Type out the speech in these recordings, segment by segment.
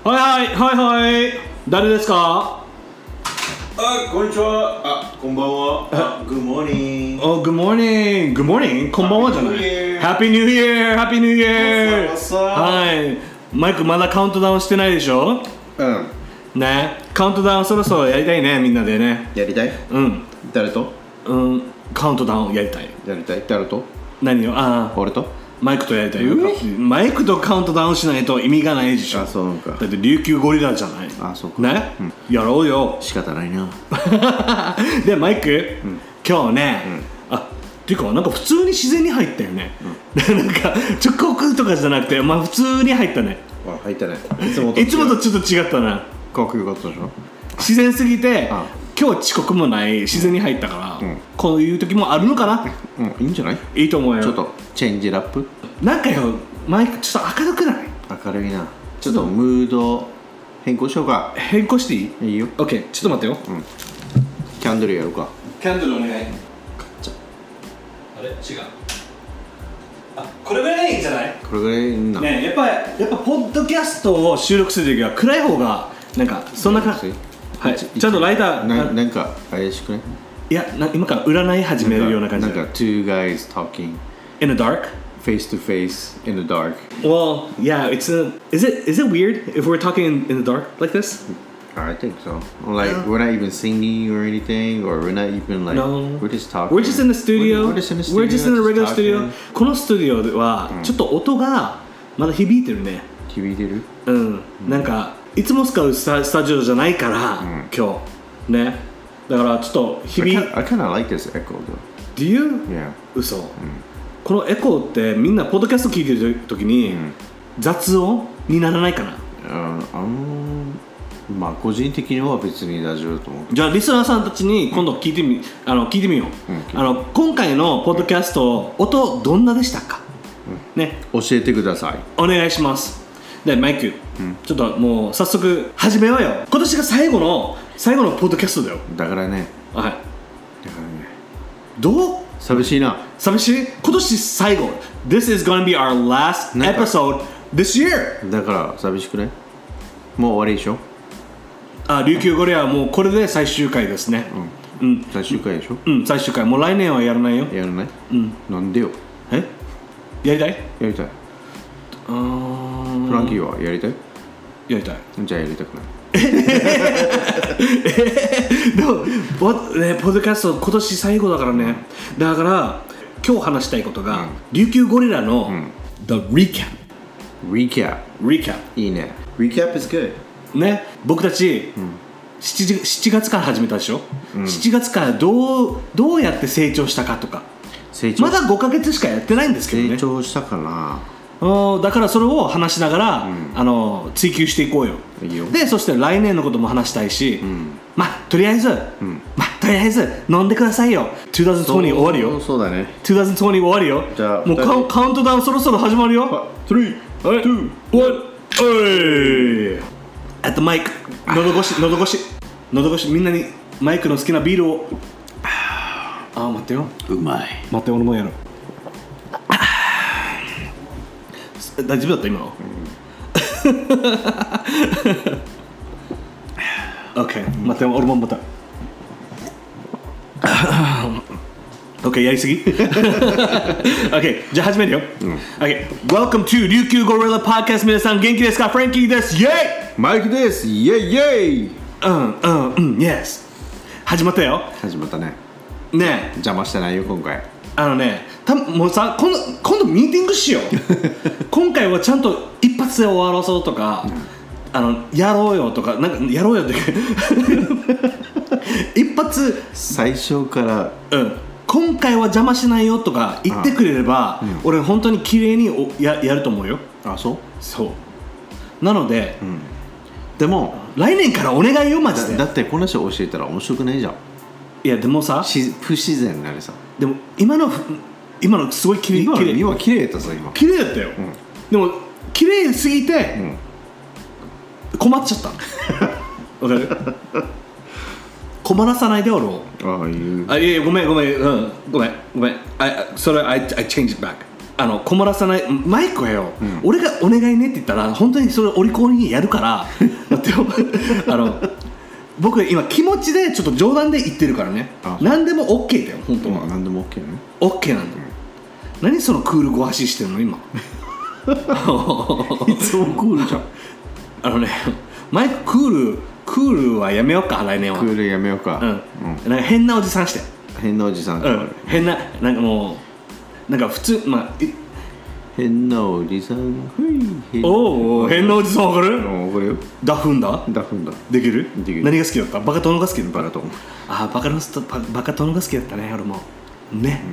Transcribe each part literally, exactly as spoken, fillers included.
はいはいはいはい誰ですか？ あ、こんにちは。あ、こんばんは。あ、Good morning. Oh, good morning. Good morning. こんばんはじゃない。Happy New Year. Happy New Year. はい。マイクまだカウントダウンしてないでしょ？ うん。 ね。カウントダウンそろそろやりたいね、みんなでね。 やりたい？ うん。 誰と？ うん。カウントダウンやりたい。 やりたい。誰と？ 何よ？ああ。 俺と？ マイクとやりたいよ。マイクとカウントダウンしないと意味がないでしょ。 あ、そうか。 だって琉球ゴリラじゃない。 あ、そうか。 ね、 うん、 やろうよ。 仕方ないな。 で、マイク、 うん、 今日ね、うん、あ、っていうか、なんか普通に自然に入ったよね。うん、なんか、直告とかじゃなくて、まあ普通に入ったね。 あ、入ったね。いつもといつもとちょっと違ったな。 かっこよかったでしょ。 自然すぎて、今日遅刻もない自然に入ったから、うん、こういう時もあるのかな。 うん、いいんじゃない？ いいと思うよ。 ちょっとチェンジラップ。 なんかよ、マイクちょっと明るくない？ 明るいな。ちょっとムード変更しようか。 変更していい？ いいよ。 オッケー、ちょっと待ってよ。 うん。キャンドルやるか。 キャンドルお願い。買っちゃあれ違う。あ、これぐらいいいんじゃない？ これぐらいいいな。 ね、やっぱやっぱポッドキャストを収録するときは暗い方がなんかそんな感じ。はい。ちゃんとライターななんか怪しくね？ いや、な今から占い始めるような感じ。 なんか two guys talking in the dark, face to face in the dark. Well, yeah, it's a. Is it is it weird if we're talking in, in the dark like this? I think so. Like yeah. We're not even singing or anything, or we're not even like. No. We're just talking. We're just in the studio. We're, we're just in the studio. We're just in a regular studio. このスタジオではちょっと音がまだ響いてるね。 響いてる？ うん。なんかいつも使うスタスタジオじゃないから、今日ね。だからちょっと響い。 I kind of like this echo though. Do you? Yeah. 嘘。このエコーってみんなポッドキャスト聞いてる時に雑音にならないかな？ ああまあ個人的には別に大丈夫と思う。 じゃあリスナーさんたちに今度聞いてみ、あの聞いてみよう、うん、あの今回のポッドキャスト音どんなでしたか、うん、ね、 教えてください。 お願いします。でマイク、うん、ちょっともう早速始めようよ。今年が最後の最後のポッドキャストだよ。 だからね。 はい。だからね。 どう？ 寂しいな。 寂しい？今年最後。This is gonna be our last episode this year. だから寂しくね。もう終わりでしょ。 あ、琉球ゴリラはもうこれで最終回ですね。 うん。うん、最終回でしょ。 うん、最終回。もう来年はやらないよ。 やらない？ うん。 なんでよ。 え？やりたい？ やりたい。 あー。 フランキーはやりたい？ やりたい。 じゃあやりたくない。 でもポッドキャスト今年最後だからね。だから今日話したいことが、うん、琉球ゴリラの、うん、The Recap Recap Recap いいね。 Recap is good ね。僕たち、うん、7, 7月から始めたでしょ、うん、しちがつからどう、どうやって成長したかとか。成長まだごかげつしかやってないんですけどね。 成長したかな。 だからそれを話しながら、うん、あの追求していこうよ。 いいよ。でそして来年のことも話したいし、うん、まあとりあえず、うん、まあとりあえず飲んでくださいよ。にせんにじゅう終わるよ。 そう、そうだね。 にせんにじゅう終わるよ。 じゃあもうカウ、カウントダウンそろそろ始まるよ。 スリー、ツー、ワン。 おい。あとマイク、喉越し、喉越し、喉越し、みんなにマイクの好きなビールを。ああ、待ってよ。 うまい。 待って、俺もやる。大丈夫だった今の、うん、OK、 待って俺もまたOK やりすぎOK じゃあ始めるよ、うん、OK Welcome to 琉球ゴリラ Podcast。 皆さん元気ですか？フランキーです。イェイ。 マイクです。イェイイェイ。 うんうんうん Yes 始まったよ。 始まったね。 ねえ邪魔してないよ今回。 あのね、たもうさ今度、今度ミーティングしよう今回はちゃんと一発で終わらそうとか、うん、あのやろうよとかなんかやろうよって一発最初から、 うん、今回は邪魔しないよとか言ってくれれば、うん、俺本当に綺麗にお や, やると思うよ。 あ、そうそうなので、うん、 でも来年からお願いよマジで。 だ, だってこの人教えたら面白くないじゃん。 いやでもさ不自然になるさ。 でも今の今のすごい綺麗。 今の今綺麗だったぞ今。 綺麗だったよ、うん、でも綺麗すぎて、うん、困っちゃったわかる困らさないで俺を。 ああいうあいやごめんごめん、うん、ごめんごめん。I, それ I, I change it back あの困らさないマイクはよ、うん、俺がお願いねって言ったら本当にそれお利口にやるからだってよあの僕今気持ちでちょっと冗談で言ってるからね。何でも OK だよ本当は。 何でも OK ね。 OK なんだよ、うん、何そのクールご発ししてるの今いつもクールじゃん。 あのねマイククールクールはやめようか来年は。 クールやめようか。 うん、うん、なんか変なおじさんして変なおじさん、 うん、変ななんかもうなんか普通まあ変なおじさんおお変なおじさんわかる？ わかるよ。 ダフンだダフンだできる？ できる。 何が好きだった？バカ殿が好きだった？ バカ殿。 ああバカ殿バ, バカ殿が好きだったね俺もね。ね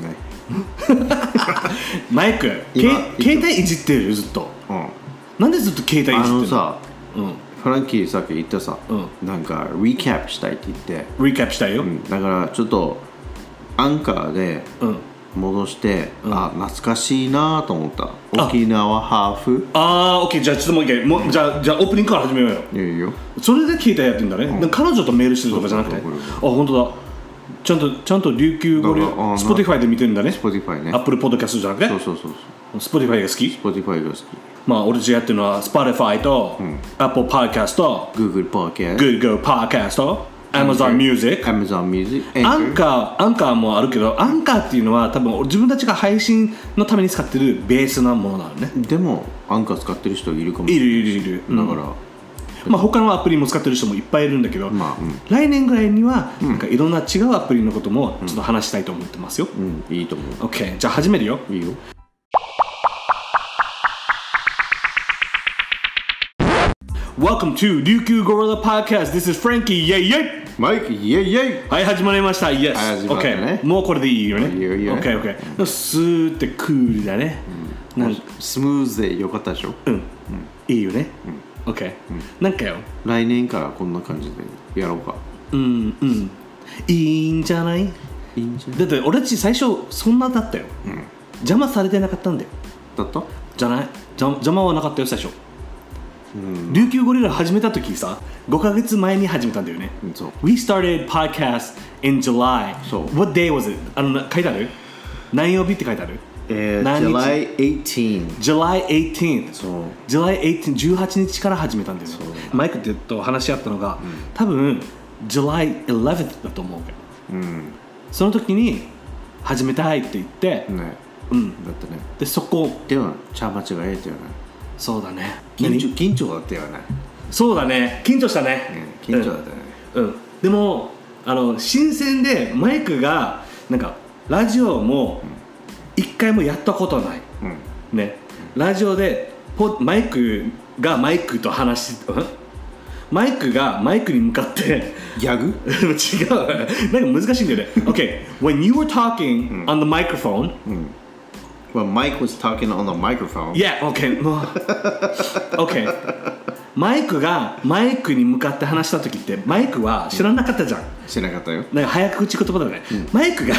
マイク携帯いじってるよずっと、うん、なんでずっと携帯いじってるの？ あのさ、 うん、 フランキーさっき言ったさ、うん、なんかリキャップしたいって言ってリキャップしたいよ、 うん、だからちょっとアンカーで、うん戻して、うん、あ懐かしいなと思った。沖縄ハーフ。 ああオッケーじゃあちょっともう一回もうじゃあじゃあオープニングから始めようよ。 いいよ。 それで携帯やってんだね、うん、彼女とメールしてるとかじゃなくて。あ本当だちゃんとちゃんと琉球語で Spotify で見てるんだね。 Spotify ね Apple Podcast じゃなくて。 そうそうそうそう Spotify が好き。 Spotify が好き。 まあ俺たちやってるのは Spotify と、うん、Apple Podcast と Google Podcast Google Podcast とAmazon Music、Amazon Music、 アンカー、アンカーもあるけど、アンカーっていうのは多分自分たちが配信のために使ってるベースなものなのね。 でもアンカー使ってる人いるかもしれない。 いるいるいる。 だから、うん、 まあ他のアプリも使ってる人もいっぱいいるんだけど、まあうん、来年ぐらいにはなんかいろんな違うアプリのこともちょっと話したいと思ってますよ。 うん、うん、いいと思う。 OK、じゃあ始めるよ。 いいよ。 Welcome to 琉球ゴリラ Podcast. This is Frankie. Yay yay. マイクイエイイエイ。 はい始まりました。Yes。 はい始まったね。 Okay。もうこれでいいよね。 いいよいいよ。 Okay okay。スーってクールだね。 うん、なんスムーズでよかったでしょ。 うん。うん、いいよね。うん、okay。うん、なんかよ。 来年からこんな感じでやろうか。 うんうん。いいんじゃない？いいんじゃない。だって俺たち最初そんなだったよ。うん。邪魔されてなかったんだよ。 だった？ じゃない。邪魔はなかったよ最初。琉球ゴリラ始めた時さごかげつまえに始めたんだよね。 そう。 We started podcast in July. そう。 What day was it? あの書いてある？何曜日って書いてある？ えー、July eighteenth。 July eighteenth。 そう。 July eighteenth、じゅうはちにちから始めたんだよね。マイクと話し合ったのが、うん、多分 July eleventh だと思うけど、うん、その時に始めたいって言って、 ね、 うん、 だってね。 でそこでも茶間違えたよね。 そうだね。 緊張緊張だったよね。 そうだね。緊張したね。 うん、緊張だったね。 うん。うん、でもあの新鮮でマイクがなんかラジオも一回もやったことない。うん、ね。ラジオでポマイクがマイクと話し、うん、マイクがマイクに向かってギャグ？ 違う。なんか難しいんだよね。Okay. When you were talking on the microphone. うん、 Well, Mike was talking on the microphone. Yeah, okay. Okay. マイクがマイクに向かって話した時ってマイクは知らなかったじゃん。 知らなかったよ。 なんか早口言葉だね。うん、マイクが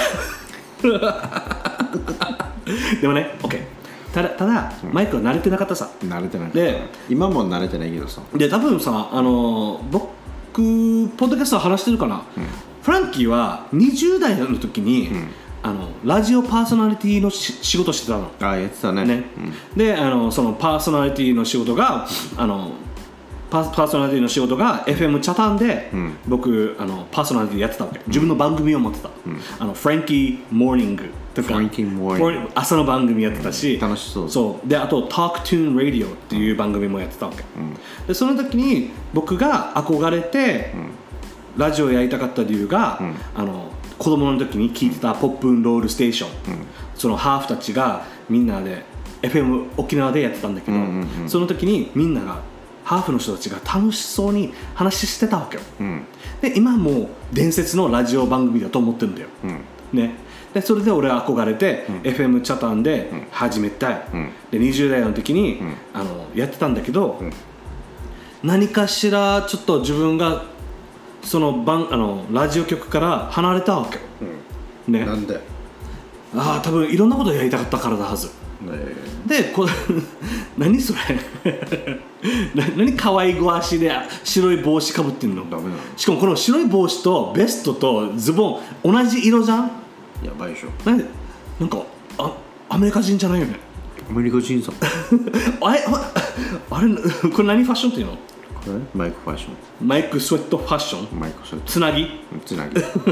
でもね、OK。ただただ、うん、マイクは慣れてなかったさ。 慣れてなかった。 で、 今も慣れてないけどさ。 で、多分さ、あの僕ポッドキャスト話してるかな。うん、フランキーはにじゅう代の時に。うんあのラジオパーソナリティの仕事してたの。 ああやってたね。 ね、うん、であのそのパーソナリティの仕事があのパー、パーソナリティの仕事が エフエム チャタンで、うん、僕あのパーソナリティやってたわけ。自分の番組を持ってた。うん、あのフランキーモーニングとか朝の番組やってたし、 うん、楽しそう。 そうであと Talk Tune Radio っていう番組もやってたわけ。うん、でその時に僕が憧れて、うん、ラジオやりたかった理由が、うん、あの子供の時に聞いてたポップンロールステーション、うん、そのハーフたちがみんなで エフエム 沖縄でやってたんだけど、うんうんうん、その時にみんながハーフの人たちが楽しそうに話してたわけよ、うん、で今もう伝説のラジオ番組だと思ってるんだよ、うんね、でそれで俺は憧れて、うん、エフエム チャタンで始めたい、うん、でにじゅう代の時に、うん、あのやってたんだけど、うん、何かしらちょっと自分がその番あのラジオ局から離れたわけよ、 うん、ね、なんでああ多分いろんなことやりたかったからだはず、ね、でこ何それ何可愛いご足で白い帽子かぶってんの。 ダメなの。 しかもこの白い帽子とベストとズボン同じ色じゃん。 やばいでしょ。 なんでなんかあアメリカ人じゃないよね。 アメリカ人さあれあれこれ何ファッションっていうの？ これマイクファッションマイクスウェットファッションマイクスウェットつなぎつなぎ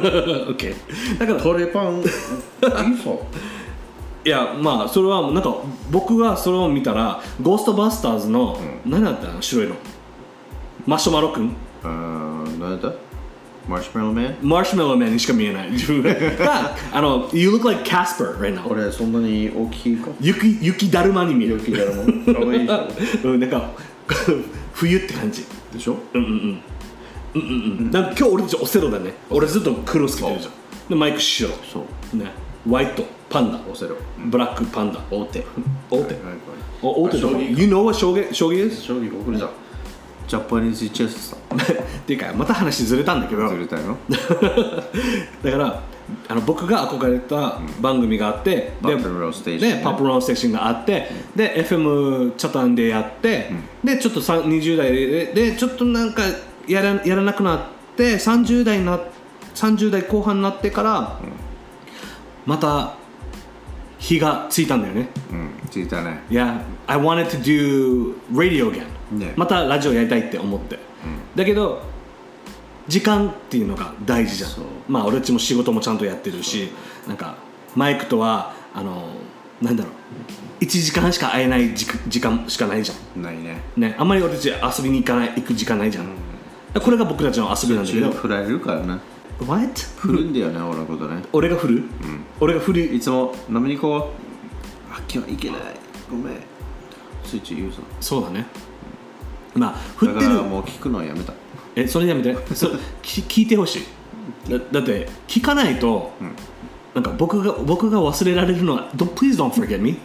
OK だからトレパンいいそういやまあそれはなんか僕がそれを見たらゴーストバスターズの、うん、何だったの白いのマシュマロくんあー何だったマシュマロマンマシュマロマンにしか見えない自分があの You look like Casper right now 俺そんなに大きいか雪雪だるまに見える雪だるまかわいいうん、なんか冬って感じでしょうんうんうんうんうんうんなんか今日俺たちオセロだね俺ずっと黒つけてるじゃんでマイク白そうねホワイトパンダオセロブラックパンダ大手大手大手 You know what 将棋将棋です？ 将棋僕らじゃジャパニーズチェスさっていうかまた話ずれたんだけどずれたよだからあの僕が憧れた番組があって、 うん、でパプローステーション、 ね、パプローステーションがあって、うん、で エフエム チャタンでやって、うん、でちょっとにじゅう代ででちょっとなんかやら、やらなくなってさんじゅう代なさんじゅう代後半になってから、うん、また火がついたんだよね。 うん、ついたね。 Yeah, I wanted to do radio again、ね、またラジオやりたいって思って、うん、だけど時間っていうのが大事じゃん。まあ俺たちも仕事もちゃんとやってるし、なんかマイクとはあのなんだろういちじかんしか会えない時間しかないじゃん。 ないね。 ね、あんまり俺たち遊びに行かない行く時間ないじゃん。うん、これが僕たちの遊びなんだけど。 振られるからね。 What？ 振るんだよね俺のことね。 俺が振る？うん、俺が振る。 いつも飲みに行こう。あ今日行けない。ごめん。スイッチ言うぞ。 そうだね。まあ振ってる。 だからもう聞くのはやめた。 えそれやめて。そ聞いてほしい。だ, だって聞かないと。うんなんか僕が僕が忘れられるのは Please don't forget me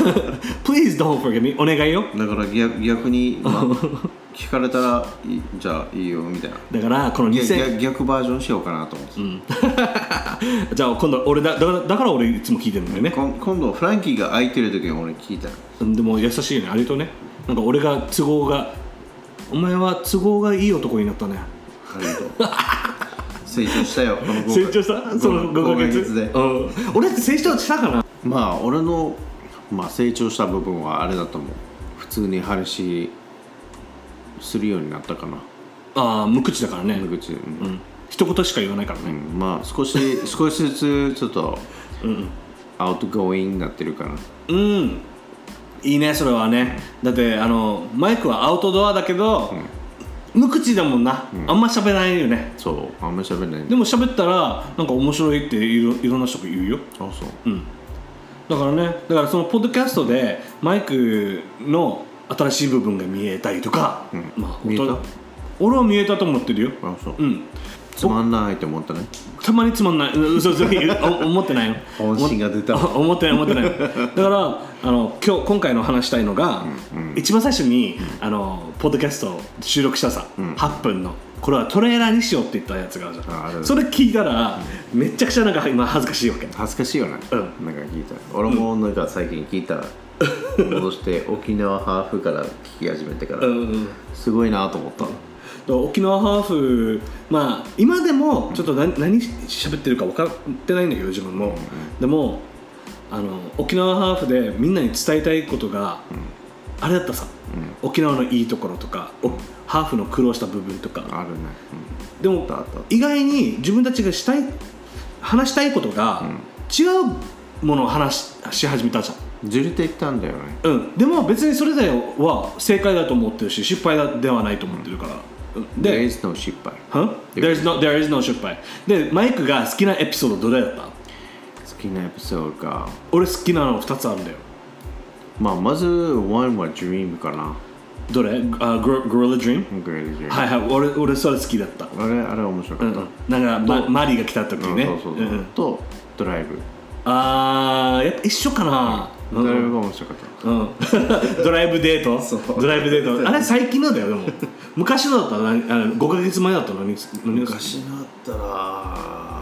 Please don't forget me お願いよだから 逆, 逆に、まあ、聞かれたらじゃあいいよみたいなだからこのにせん逆, 逆バージョンしようかなと思って、うん、 じゃあ今度俺だだからだから俺いつも聞いてるんだよね今度フランキーが空いてる時に俺聞いたでも優しいねありがとうねなんか俺が都合がお前は都合がいい男になったねありがとう成長したよこの成長したそのごかげつで、うん、俺って成長したかなまあ俺の、まあ、成長した部分はあれだと思う普通に話するようになったかなああ無口だからね無口、うんうん、一言しか言わないからね、 うん、まあ少し少しずつちょっとうん、アウトゴーイングになってるかなうんいいねそれはねだってあのマイクはアウトドアだけど、うん無口だもんな、うん、あんま喋らないよねそうあんま喋らないでも喋ったらなんか面白いってい ろ, いろんな人が言うよあそう、 うん、だからねだからそのポッドキャストでマイクの新しい部分が見えたりとか、 うんまあ、見えた俺は見えたと思ってるよあそう、 うん、 つまんないって思ったねたまにつまんない嘘嘘思ってないよ本心が出た思ってない思ってないだからあの今日今回の話したいのが、うんうん、一番最初に、うん、あのポッドキャストを収録したさ、うん、はっぷんのこれはトレーラーにしようって言ったやつがあるじゃんそれ聞いたら、うん、めちゃくちゃなんか今恥ずかしいわけ恥ずかしいよね、うん、なんか聞いた俺もなんか最近聞いたら、うん、戻して沖縄ハーフから聞き始めてから、うん、すごいなと思った、うん沖縄ハーフまあ今でもちょっと 何, 何喋ってるか分かってないんだけど自分も、うんうん、でもあの沖縄ハーフでみんなに伝えたいことが、うん、あれだったさ、うん、沖縄のいいところとか、うん、ハーフの苦労した部分とかあるね、 うん、でも意外に自分たちがしたい話したいことが、うん、違うものを話 し, し始めたじゃんずれていったんだよね、 うん、でも別にそれでは正解だと思ってるし失敗ではないと思ってるから、うんで There is no 失敗 Huh? There is no, there is no 失敗でマイクが好きなエピソードどれだった好きなエピソードか俺好きなのふたつあるんだよまあまずワンは Dream かなどれ、uh, Gorilla Dream? Gorilla Dream はいはい 俺, 俺それ好きだったあれあれ面白かった、うん、 なんか、ま、マリーが来た時ね、 うん、そうそうそう、うん、とドライブあーやっぱ一緒かな、 うん、ドライブが面白かった、 うん、ドライブデートドライブデートあれ最近のだよでも昔のだったらあのごかげつまえだったら 何, 何昔のだったら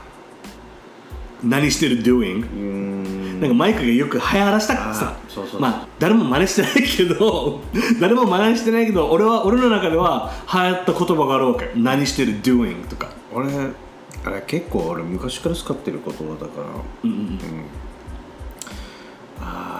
何してる doing うーんなんかマイクがよく流行らしたからさそうそうまあ誰も真似してないけど誰も真似してないけど俺は俺の中では流行った言葉があるわけ何してる doing とか俺あれ結構俺昔から使ってる言葉だからうんうん、うん、あ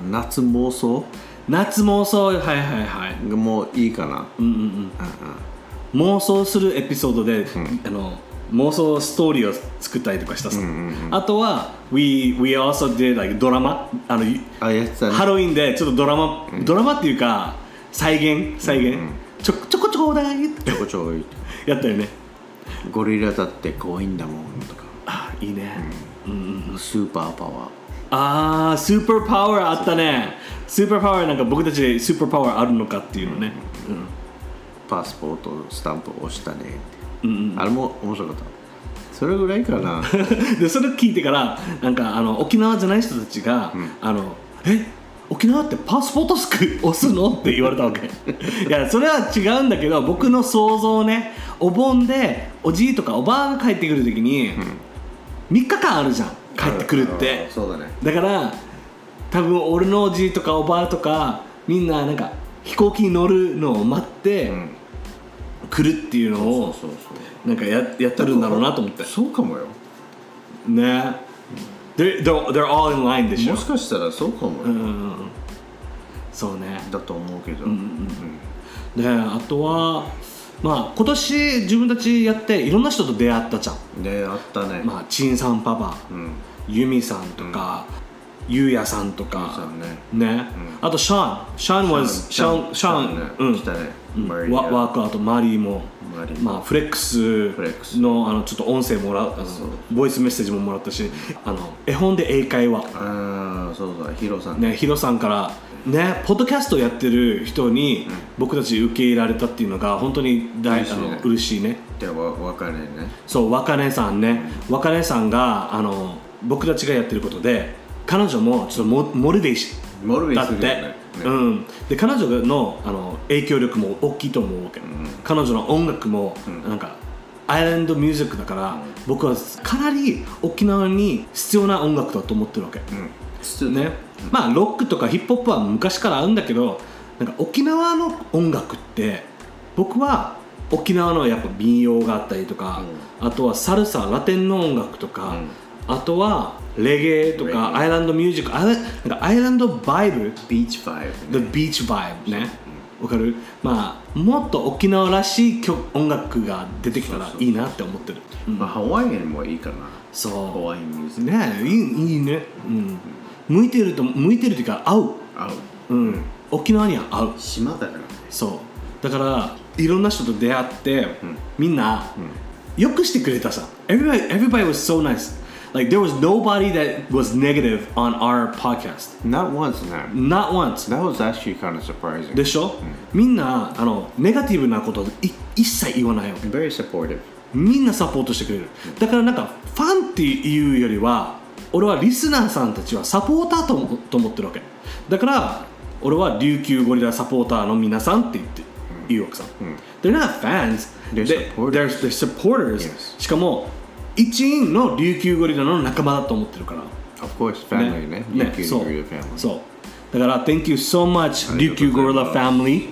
夏妄想夏妄想はいはいはいもういいかな、 うんうんうん、妄想するエピソードで、うん、あの妄想ストーリーを作ったりとかしたさ、うんうんうん、あとは we, we also did like ドラマあのあやってたね、 ハロウィンでちょっとドラマ、うん、ドラマっていうか再現再現、うんうん、ちょちょこちょこだいちょこちょこやったよね。 ゴリラだって怖いんだもんとか、 あいいね、 うんうんうん、スーパーパワー、 あースーパーパワーあったね。スーパーパワーなんか僕たちでスーパーパワーあるのかっていうのね、うんうん、 パスポートスタンプ押したねって、うんうん、あれも面白かった。それぐらいかなでそれ聞いてからなんかあの沖縄じゃない人たちが、うん、あのえ沖縄ってパスポートスク押すのって言われたわけいやそれは違うんだけど僕の想像ね、お盆でおじいとかおばあが帰ってくる時に、うん、みっかかんあるじゃん帰ってくるって。 そうだね。 だから多分俺のおじいとかおばあとかみんななんか飛行機に乗るのを待って、うん、来るっていうのをそうそうそうそうなんか や, やってるんだろうなと思って。 そうかもよね。They're, they're all in line でしょ。 もしかしたらそうかもよ、うんうんうん、 そうねだと思うけど、うんうんうん、であとはまあ今年自分たちやっていろんな人と出会ったじゃん。 出会ったね。 まあチンさんパパ、うん、ユミさんとか、うん、ユウヤさんとかね、ね、うん、あとシャーンシャーン was シャーンシャーン、ね、うん、来たね、うん、ワ, ワークあとマリーもまあ、フレックス の, あのちょっと音声もらうあのボイスメッセージももらったし、あの絵本で英会話、 あそうそうヒロさんね、ヒロさんからねポッドキャストやってる人に僕たち受け入れられたっていうのが本当に大嬉しいね。あの嬉しいね。 でわ若音ね。 そう若音さんね、うん、若音さんがあの僕たちがやってることで彼女もちょっとモモリベーションだって、ねうん、で彼女 の, あの影響力も大きいと思うわけ、うん、彼女の音楽も、うん、なんかアイランドミュージックだから、うん、僕はかなり沖縄に必要な音楽だと思ってるわけ、うんねうん、まあロックとかヒップホップは昔からあるんだけどなんか沖縄の音楽って僕は沖縄のやっぱ民謡があったりとか、うん、あとはサルサラテンの音楽とか、うん、あとはレゲエとかアイランドミュージック、アイなんかアイランドバイブ、 ビーチバイブ、 The Beach Vibe ね、わかる？まあもっと沖縄らしい曲音楽が出てきたらいいなって思ってる。 うん、まあハワイアンもいいかな。 そう。 ハワイアンミュージック。 ね、いいいいね。うん。向いてると向いてるというか合う。 合う。 うん。沖縄には合う。 島だからね。 そう。だからいろんな人と出会って、うん、みんな、うん、よくしてくれたさ。Everybody, everybody was so nice.Like there was nobody that was negative on our podcast. Not once, man. Not once. That was actually kind of surprising. でしょ、うん、みんなあのネガティブなことい一切言わないよ。 Very supportive. みんなサポートしてくれる。うん、だからなんかファンっていうよりは俺はリスナーさんたちはサポーターと思、と思ってるわけ。だから俺は琉球ゴリラサポーターの皆さんって言って言うわけさ。うん、They're not fans. They're supporters. They're, they're supporters. Yes. しかも一員の琉球ゴリラの仲間だと思ってるから。 Of course, family ね。琉球ゴリラ family。 そう。だから Thank you so much, 琉球ゴリラ family.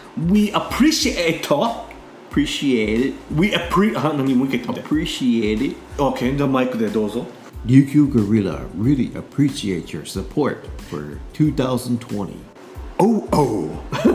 We appreciate it. Appreciate it. We appreciate. あ、何もう一回言って。 Appreciate it. Okay, じゃあマイクでどうぞ。 琉球ゴリラ really appreciate your support for twenty twenty. Oh, oh.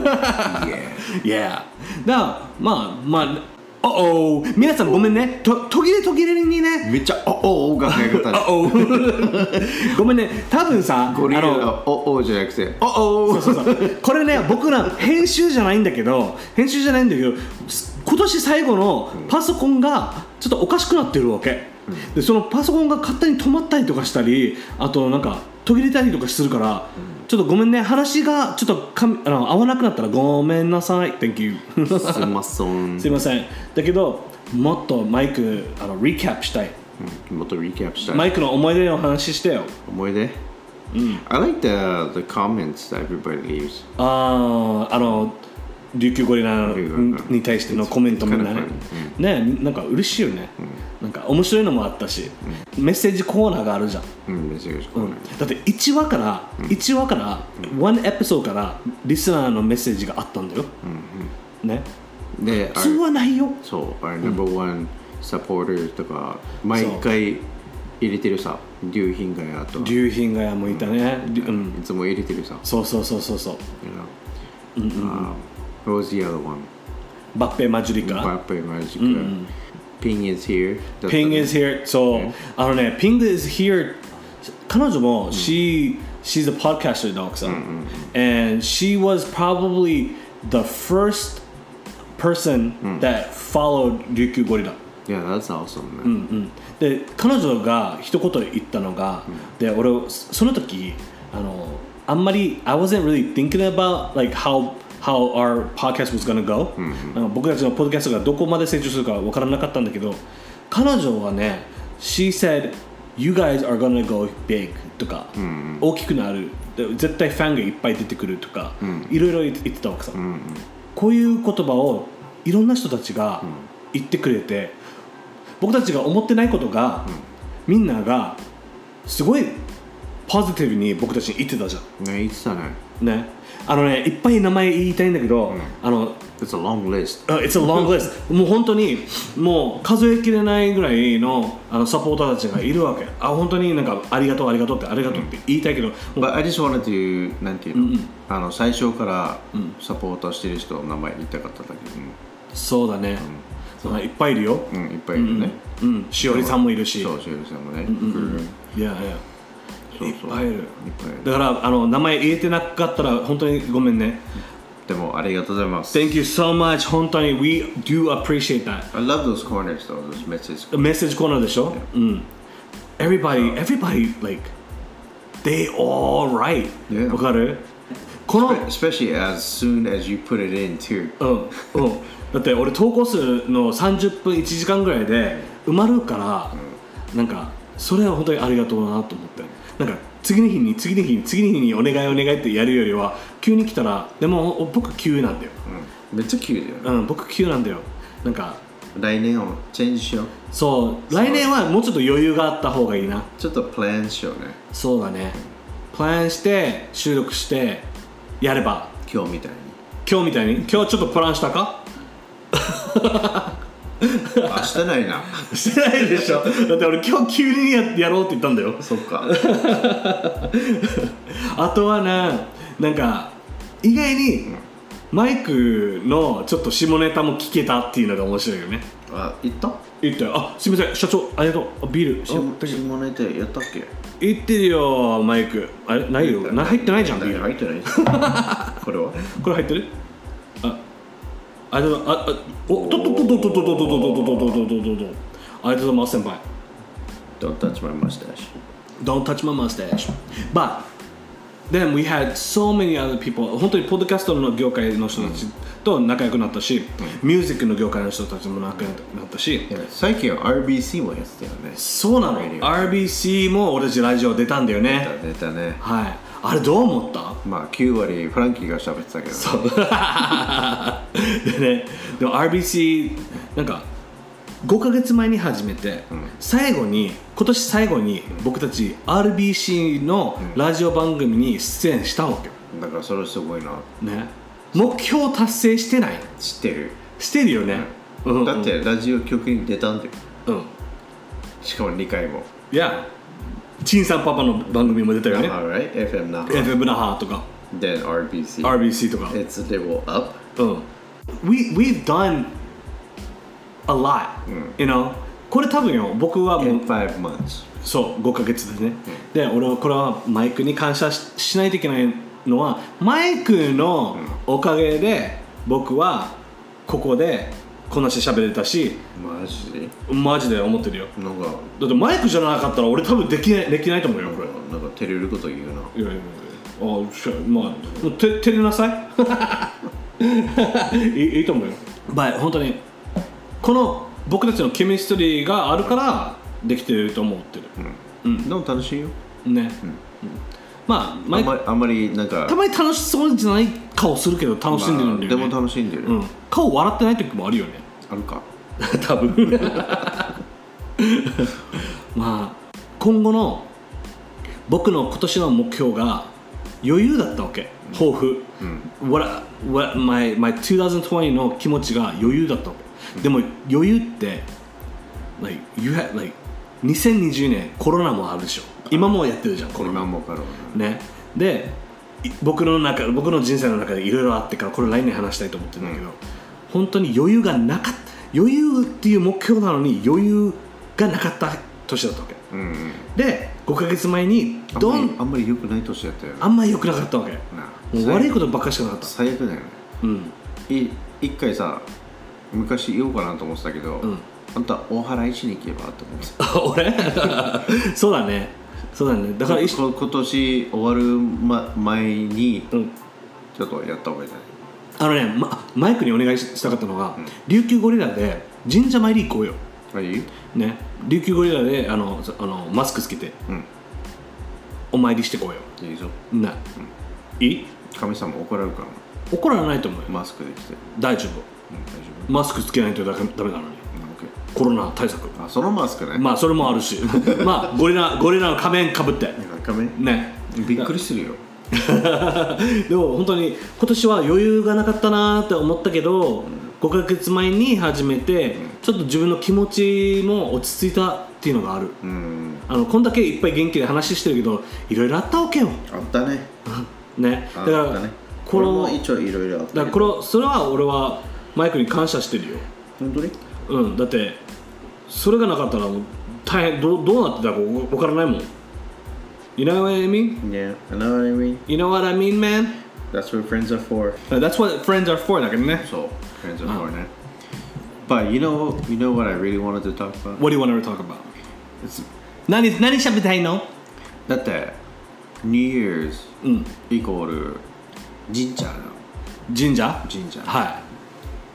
Yeah. Yeah. だからまあまあ。おお皆さんごめんねと途切れ途切れにねめっちゃおおが早かったねおおごめんね多分さゴリラのおおじゃなくておおそうそうそうこれね僕ら編集じゃないんだけど編集じゃないんだけど今年最後のパソコンがちょっとおかしくなってるわけ、うん、でそのパソコンが勝手に止まったりとかしたりあとなんか途切れたりとかするから、うんちょっとごめんね話がちょっとかあの合わなくなったらごめんなさい Thank you すいませんすいませんだけどもっとマイクあのリキャップしたい、 うん、もっとリキャップしたいマイクの思い出の話してよ思い出うん I like the, the comments that everybody leaves あああの琉球ゴリラに対してのコメントみんなね、ねなんか嬉しいよね、うん、なんか面白いのもあったし、うん、メッセージコーナーがあるじゃん、 うん、メッセージコーナー、うん、 だっていちわから、うん、いちわから、うん、ワンエピソードからリスナーのメッセージがあったんだよ、うんうん、ねで普通はないよそう、our number one supporters とか毎回入れてるさ、竜品がやとか竜品がやもいたね、うん、 いつも入れてるさ。 そうそうそうそうそう、 you know? うんうん、uh, What was the other one? バッペマジリカ、 バッペマジリカ、うん、Ping is here Ping is here そう、yeah. あのね Ping is here 彼女も、うん、she she's a podcaster だ奥さん、うんうん、and she was probably the first person、うん、that followed 琉球ゴリラ。 Yeah, that's awesome, man. うんうん、で彼女が一言言ったのが、うん、で俺その時あのあんまり I wasn't really thinking about like how how our podcast was gonna go、うんうん、僕たちのポッドキャストがどこまで成長するか分からなかったんだけど、彼女はね She said You guys are gonna go big とか、うんうん、大きくなる、絶対ファンがいっぱい出てくるとか、うん、いろいろ言ってたわけさ、うんうん、こういう言葉をいろんな人たちが言ってくれて、僕たちが思ってないことが、うん、みんながすごいポジティブに僕たちに言ってたじゃん。 ね、言ってたね。 ね、あのね、いっぱい名前言いたいんだけど、うん、あの It's a long list. Uh, it's a long list. もう本当にもう数えきれないぐらい の, あのサポーターたちがいるわけ。あ、本当になんかありがとうありがとうってありがとうって言いたいけど、うん、 But I just wanted to なんていうの、うんうん、あの最初からサポーターしてる人の名前言いたかっただけど、 うん、そうだね、うん、いっぱいいるよ、 うん、いっぱいいるね、 うんうん、しおりさんもいるし、 そう、しおりさんもね、 うんうんうん、いやいやいっぱいいる。だからあの名前言えてなかったら本当にごめんね。 でもありがとうございます。 Thank you so much. 本当に We do appreciate that. I love those corners though, those message corners. メッセージコーナーでしょ、yeah. うん。Everybody, everybody like they all right、yeah. わかる？この Especially as soon as you put it in too、 うんうん、だって俺投稿数のさんじゅっぷんいちじかんぐらいで埋まるから、うん、なんかそれは本当にありがとうなと思って、なんか次の日に次の日に次の日にお願いお願いってやるよりは急に来たら、でも僕急なんだよ、 うん、めっちゃ急だよね、 うん、僕急なんだよ。なんか来年をチェンジしよう。 そう来年はもうちょっと余裕があった方がいいな。 ちょっとプランしようね。 そうだね、プランして収録してやれば、 今日みたいに今日みたいに今日ちょっとプランしたかあ、してないな。 してないでしょ。だって俺今日急に や, やろうって言ったんだよ。 そっか。 あとはな、なんか意外にマイクのちょっと下ネタも聞けたっていうのが面白いよね。 あ、言った言ったよ。あ、すみません社長、ありがとう。ビール下ネタやったっけ。 言ってるよマイク。あれないよ、な入ってないじゃん。ビール入ってないこれはこれ入ってる。あありがとうございます。あ、おっとっとっとっとっとっとっとっとっとっとっとっと。ありがとうございます先輩。 Don't touch my mustache. Don't touch my mustache. But then we had so many other people. 本当にポッドキャストの業界の人たちと仲良くなったし、ミュージックの業界の人たちも仲良くなったし、 最近は アールビーシー もやってたよね。 そうなの。アールビーシー も俺たちラジオ出たんだよね。 出たね。 はい。あれどう思った？ まあきゅう割フランキーが喋ってたけど、ね、 そうでね、でも アールビーシー なんかごかげつまえに始めて、うん、最後に今年最後に僕たち アールビーシー のラジオ番組に出演したわけ、 うん、だからそれすごいなね。目標達成してない？ 知ってるしてるよね、 うんうん、だってラジオ局に出たんだよ、うん、しかもにかいも。 いやチンさんパパの番組も出たよね。 Right? エフエム 那覇エフエム 那覇とか Then アールビーシーアールビーシー とか It's a level up、 うん、We, We've done a lot、うん、you know これ多分よ僕はもう In five months そうごかげつでね、うん、で俺はこれはマイクに感謝 し, しないといけないのはマイクのおかげで僕はここでこんなして喋れたし、 マジでマジで思ってるよ。 なんかだってマイクじゃなかったら俺多分できないできないと思うよこれ。 なんか照れること言うな。いやいやいや、 あ、しゃ、まあて照れなさい。い, いいと思うよ。まあ本当にこの僕たちのケミストリーがあるからできてると思ってる。 うん。うん、でも楽しいよ。 ね。うんうん、まあ、 あんまり、あんまりなんかたまに楽しそうじゃない顔するけど楽しんでるんだよね。 まあ、でも楽しんでる、 うん、顔笑ってない時もあるよね。 あるか多分まあ今後の僕の今年の目標が余裕だったわけ、抱負、うん、what, what my, my にせんにじゅうの気持ちが余裕だったわけ、うん、でも余裕って like you had like にせんにじゅうねんコロナもあるでしょ。今もやってるじゃんコロナ今もコロナね。で僕の中僕の人生の中でいろいろあってからこれ来年話したいと思ってるんだけど、うん、本当に余裕がなかった余裕っていう目標なのに余裕がなかった年だったわけ、うんうん、でごかげつまえにどんあんまり良くない年だったよね。 あんまり良くなかったわけ。もう悪いことばっかりしかなかった。 最悪だよね。うんい一回さ昔言おうかなと思ってたけど、うん、あんた大原市に行けばと思って俺そうだねそうだねだから今年終わる、ま、前に、うん、ちょっとやった方がいいじゃない。あのね、ま、マイクにお願いしたかったのが、うん、琉球ゴリラで神社参り行こうよ。 はいね、琉球ゴリラであのあのマスクつけて、うん、お参りしてこうよ。 いいぞな、うん、いい？ 神様怒られるかな。 怒らないと思うよ。 マスクで来て大丈夫、うん、大丈夫。マスクつけないとダメなのに、うん、コロナ対策。 あ、そのマスクね。 まあそれもあるしまあゴリラゴリラの仮面かぶって仮面ね。 びっくりするよでも本当に今年は余裕がなかったなって思ったけど、うん、ごかげつまえに始めて、うん、ちょっと自分の気持ちも落ち着いたっていうのがある、うん、あのこんだけいっぱい元気で話してるけどいろいろあったわけよ。 あったねね、だからね、これも一応いろいろあった。 だからこれそれは俺はマイクに感謝してるよ。 本当に？ うん、だってそれがなかったらもう大変 ど, どうなってたか分からないもん。You know what I mean? Yeah, I know what I mean. You know what I mean, man? That's what friends are for. That's what friends are for だけどね。 そう、friends are for ね。But you know, you know what I really wanted to talk about? What do you want to talk about? 何何喋りたいの？ だってNew Year's、うん、イコール神社の神社神社はい。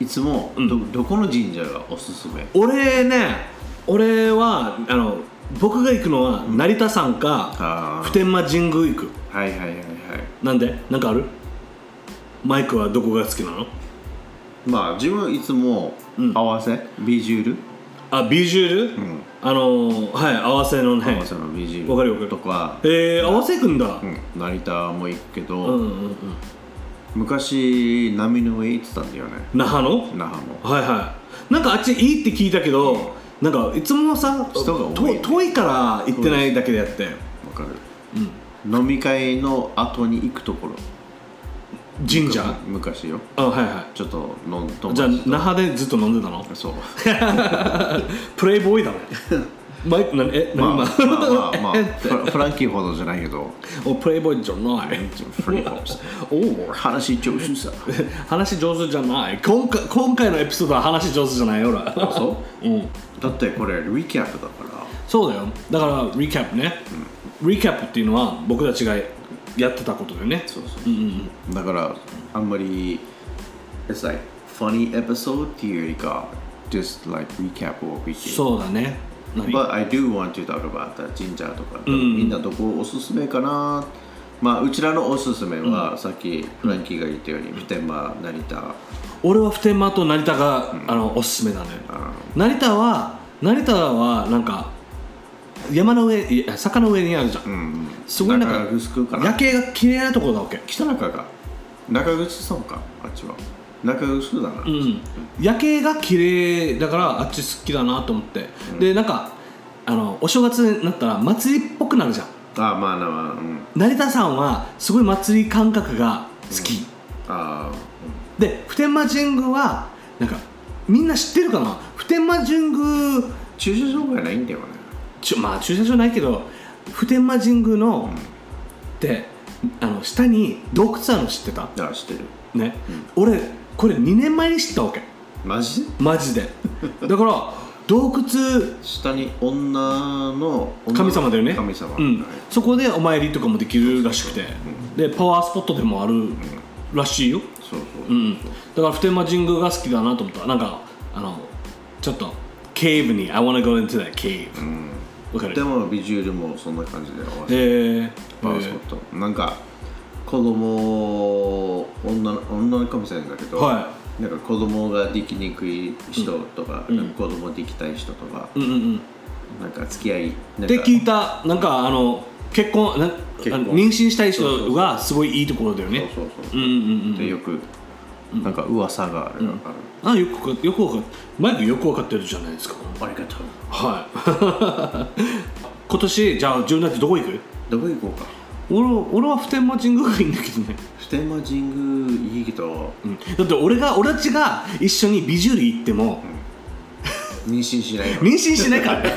いつも ど,、うん、どこの神社がおすすめ？ 俺ね、俺はあの僕が行くのは成田山か、うん、普天間神宮行く。 はいはいはいはい。 なんで？なんかある？マイクはどこが好きなの？ まあ自分はいつも合わせ、うん、ビジュール。 あ、ビジュール？うん、あのはい、合わせのね。 合わせのビジュール。 わかるわかる。 とか。 えー、合わせ行くんだ。うん、 成田も行くけど。 うんうんうん。 昔波の上行ってたんだよね。 那覇の？ 那覇の。 はいはい。なんかあっちいいって聞いたけど、うん、なんかいつもさ人が多い、ね、 遠いから行ってないだけでやって。わかる。うん。飲み会の後に行くところ。 神社？ 昔よ。 あ、はいはい。 ちょっと飲んと。 じゃあ那覇でずっと飲んでたの？ そう。 プレイボーイだね。マイク何え何まあまあまあ、まあ、フランキーほどじゃないけど。 おプレイボーイじゃない。 お話上手さ。 話上手じゃない。今回今回のエピソードは話上手じゃないよ俺。 そう？うん。だってこれリキャップだから。 そうだよ。だからリキャップね。うん、リキャップっていうのは僕たちがやってたことだよね。 そうそうそう。うんうん、だからあんまり It's like funny episode っていうよりか just like recapを見て。 そうだね。 But I do want to talk about 神社とか、うん、みんなどこおすすめかな。まあうちらのおすすめは、うん、さっきフランキーが言ったように普天間成田。 俺は普天間と成田が、うん、あのおすすめだね。成田は成田はなんか山の上坂の上にあるじゃん。うん、すごいなんか夜景が綺麗なところだわけ。 北中が中口村かあっちは。中臼だな、 うん、夜景が綺麗だからあっち好きだなと思って、うん、でなんかあのお正月になったら祭りっぽくなるじゃん。 ああまあまあ、うん、 成田山はすごい祭り感覚が好き、うん、あ、うん、で普天間神宮はなんかみんな知ってるかな。普天間神宮駐車場がないんだよね。 ちょまあ駐車場ないけど普天間神宮の、うん、であの下に洞窟あるの知ってた？ ああ知ってるね、うん、俺これにねんまえに知ったわけ。 マジで？ マジでだから洞窟下に女の神様だよね。 神様、 うん、そこでお参りとかもできるらしくて、うん、でパワースポットでもあるらしいよ。 そうそうそう、うん、だから普天間神宮が好きだなと思った。なんかあのちょっとケーブに I wanna go into that cave、うん、わかる？ でもビジュアルもそんな感じで合わせて、 えー、 パワースポット、えー、なんか子供 女, 女の神様だけど、はい、なんか子供ができにくい人とか、うん、なんか子供できたい人とか、うんうんうん、なんか付き合いで聞いた。なんかあの結婚な結婚妊娠したい人がすごいいいところだよね。 そうそうそう、うんうんうん、でよくなんか噂がある、うん、 あるあよくよくわかマイクよくわかってるじゃないですか。 ありがとう。 はい今年じゃあ自分だってどこ行く？ どこ行こうか。 俺, 俺は普天間神宮がいいんだけどね。 普天間神宮いいけど、 うん、だって俺が俺たちが一緒にビジュール行っても、 うん、妊娠しない妊娠しないからね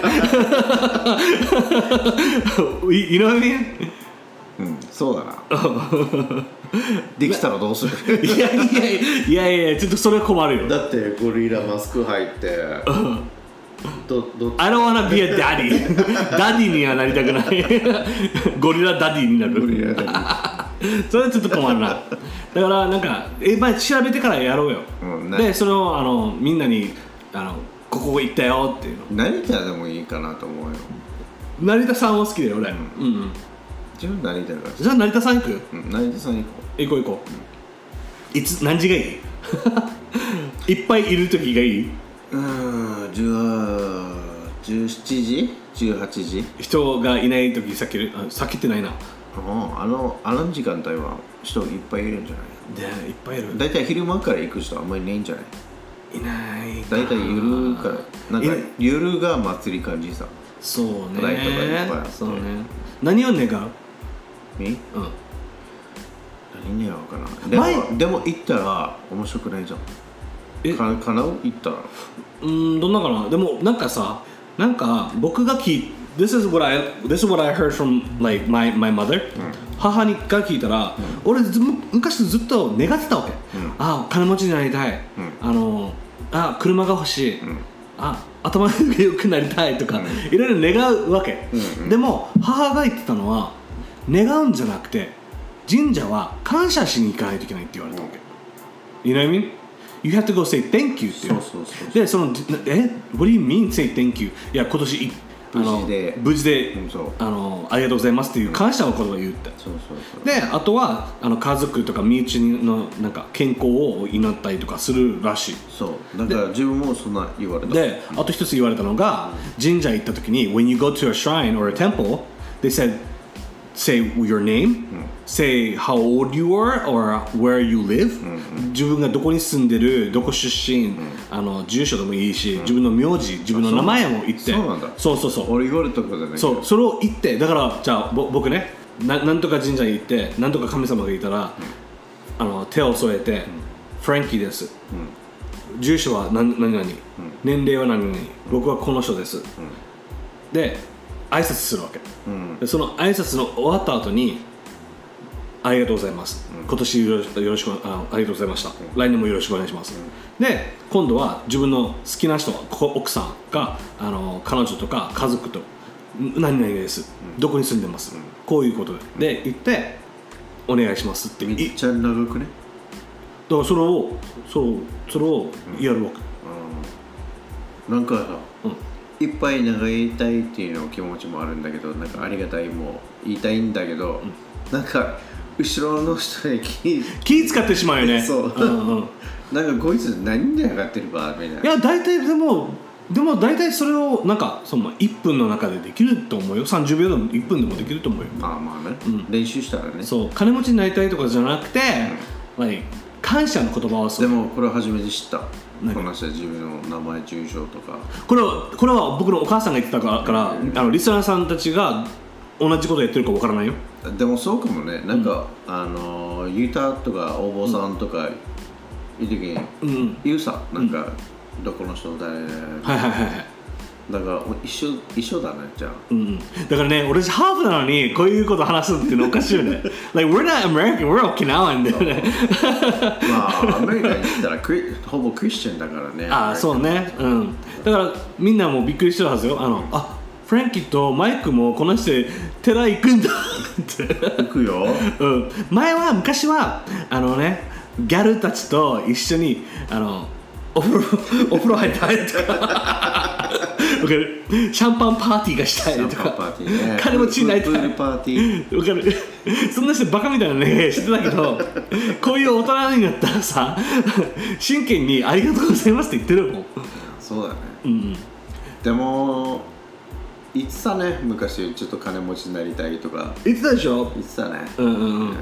いknow what I mean？ うん、そうだなできたらどうするいやいやいやいやちょっとそれは困るよ。 だってゴリラマスク入ってどど I don't wanna be a daddy ダディにはなりたくないゴリラダディになるゴリラダディそれはちょっと困るな。だからなんかえ、まあ、調べてからやろうよ、うん、でそれをあのみんなにあのここ行ったよっていうの。 成田でもいいかなと思うよ。 成田さんは好きだよ俺、うん、うんうん自分成田がじゃあ成田さん行く、 うん、成田さん行こう行こう行こう、うん、いつ何時がいいいっぱいいる時がいい。 うーんじゅうしちじじゅうはちじ人がいない時避ける。あ避けてないな。 あのあの時間帯は人いっぱいいるんじゃない？ でいっぱいいる。 だいたい昼間から行く人あんまりいないんじゃない？ いないだいたい夜からなんか夜が祭り感じさ。 そうねライトがいっぱいあって。 そうね。何を願う？ え？うん。何願うかな。でもでも行ったら面白くないじゃん。え？か叶う？行ったら。 うーんどんなかな。でもなんかさなんか僕が聞いThis is what I This is what I heard from like my my mother、うん、母にが聞いたら、うん、俺ず昔ずっと願ってたわけ、うん、あ金持ちになりたい、うん、あのあ車が欲しい、うん、あ頭が良くなりたいとか、うん、いろいろ願うわけ、うんうん、でも母が言ってたのは願うんじゃなくて神社は感謝しに行かないといけないって言われたわけ、うん、You know what I mean? You have to go say thank you っていう。そうそうそうそうでそのえ What do you mean say thank you? いや今年無事で無事で、 うん、そうあのありがとうございますっていう感謝の言葉を言って、うん、そうそうそうであとはあの家族とか身内のなんか健康を祈ったりとかするらしい。 そうだから自分もそんな言われた。 であと一つ言われたのが、うん、神社行った時に When you go to a shrine or a temple they said say your name、うん、say how old you are or where you live、うんうん、自分がどこに住んでるどこ出身、うん、あの住所でもいいし、うん、自分の名字自分の名前も言って。 そうなんだ。 そうそうそう俺言われたことだね。 そうそれを言ってだからじゃあぼ僕ね な, なんとか神社に行ってなんとか神様がいたら、うん、あの手を添えて、うん、フランキーです、うん、住所は何々、うん、年齢は何々、うん、僕はこの人です、うん、で挨拶するわけ、うん、でその挨拶の終わった後にありがとうございます、うん、今年よろしよろしく あ, ありがとうございました、うん、来年もよろしくお願いします、うん、で今度は自分の好きな人奥さんがあの彼女とか家族と何々です、うん、どこに住んでます、うん、こういうことで、うん、で言ってお願いしますってめっちゃ長くね。 だからそれをそうそれをやるわけ、 うんうん、なんかさ、うんいっぱい長いたいっていうの気持ちもあるんだけどなんかありがたいも言いたいんだけど、うん、なんか後ろの人に気気使ってしまうよね。 そう、うんうん、なんかこいつ何で上がってるかみたいな。 いや大体でもでも大体それをなんかそのいっぷんの中でできると思うよ。さんじゅうびょうでもいっぷんでもできると思うよ。 まあまあね、うん、練習したらね。 そう金持ちになりたいとかじゃなくて、うん、感謝の言葉をでもこれ初めて知った。この人は自分の名前住所とかこれはこれは僕のお母さんが言ってたから、うん、あのリスナーさんたちが同じことやってるかわからないよ。 でもそうかもね。なんか、うん、あのユタとかお坊さんとかいる時に、うん、言うさなんか、うん、どこの人誰はいはいはいはいだから一緒一緒だねじゃあ、 うん、だからね俺ハーフなのにこういうこと話すっていうのおかしいよねlike we're not American we're Okinawan だよねまあアメリカに行ったらクリほぼクリスチャンだからねああそうねうんだからみんなもびっくりしてるはずよあのあフランキーとマイクもこの人寺行くんだって行くよ、 うん、前は昔はあのねギャルたちと一緒にあのお風呂お風呂入ったりとかシャンパンパーティーがしたいとか、ね、金持ちになりたいプールパーティーわかるそんな人バカみたいなねしてたけどこういう大人になったらさ真剣にありがとうございますって言ってるもん。 そうだね、 うん、 でも言ってたね昔ちょっと金持ちになりたいとか言ってたでしょ。 言ってたねうんうんうん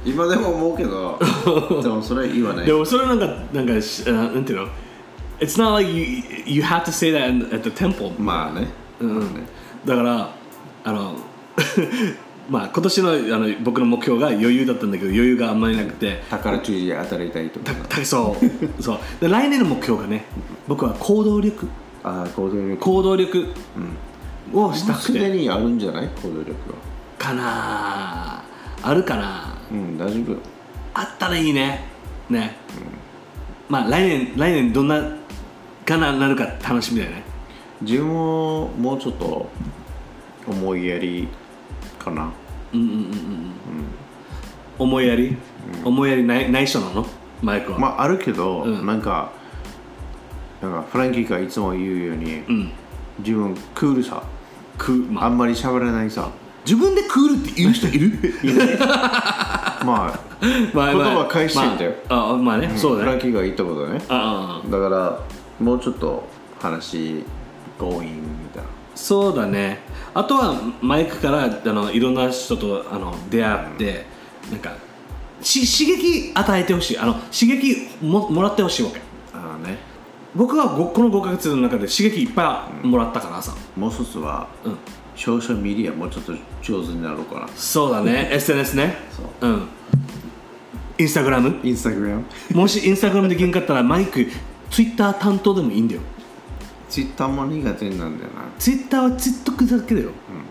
今でも思うけどでもそれ言わない。 でもそれなんかなんかなんていうの It's not like you, you have to say that at the temple まあね、 うん、まあねだからあのまあ今年のあの僕の目標が余裕だったんだけど余裕があんまりなくて宝くじで当たりたいとかたそうそうで来年の目標がね僕は行動力あ行動力行動力をしたくてすでにあるんじゃない行動力はかなあるかなうん大丈夫あったらいいねね、うん、まあ来年来年どんなかななるか楽しみだよね自分ももうちょっと思いやりかなうんうんうんうん、うん、思いやり、うん、思いやりないない人なのマイクはまああるけど、うん、なんかなんかフランキーがいつも言うように、うん、自分クールさク、まあ、あんまり喋らないさ自分でクールって言う人いるいないまあ、まあ、言葉返してんだよ、 まあ、あまあね、うん、そうだねフランキーが言ったことねああだからもうちょっと話強引みたいなそうだねあとはマイクからあのいろんな人とあの出会って、うん、なんかし刺激与えてほしいあの刺激 も, もらってほしいわけああね僕はこのごかげつの中で刺激いっぱいもらったからさ、 うん、もう一つは、うんソーシャルメディアもうちょっと上手になろうかなそうだねエスエヌエス ねそううんインスタグラムインスタグラムもしインスタグラムできんかったらマイクツイッター担当でもいいんだよツイッターも苦手なんだよなツイッターはツイットクだけだよ、うん、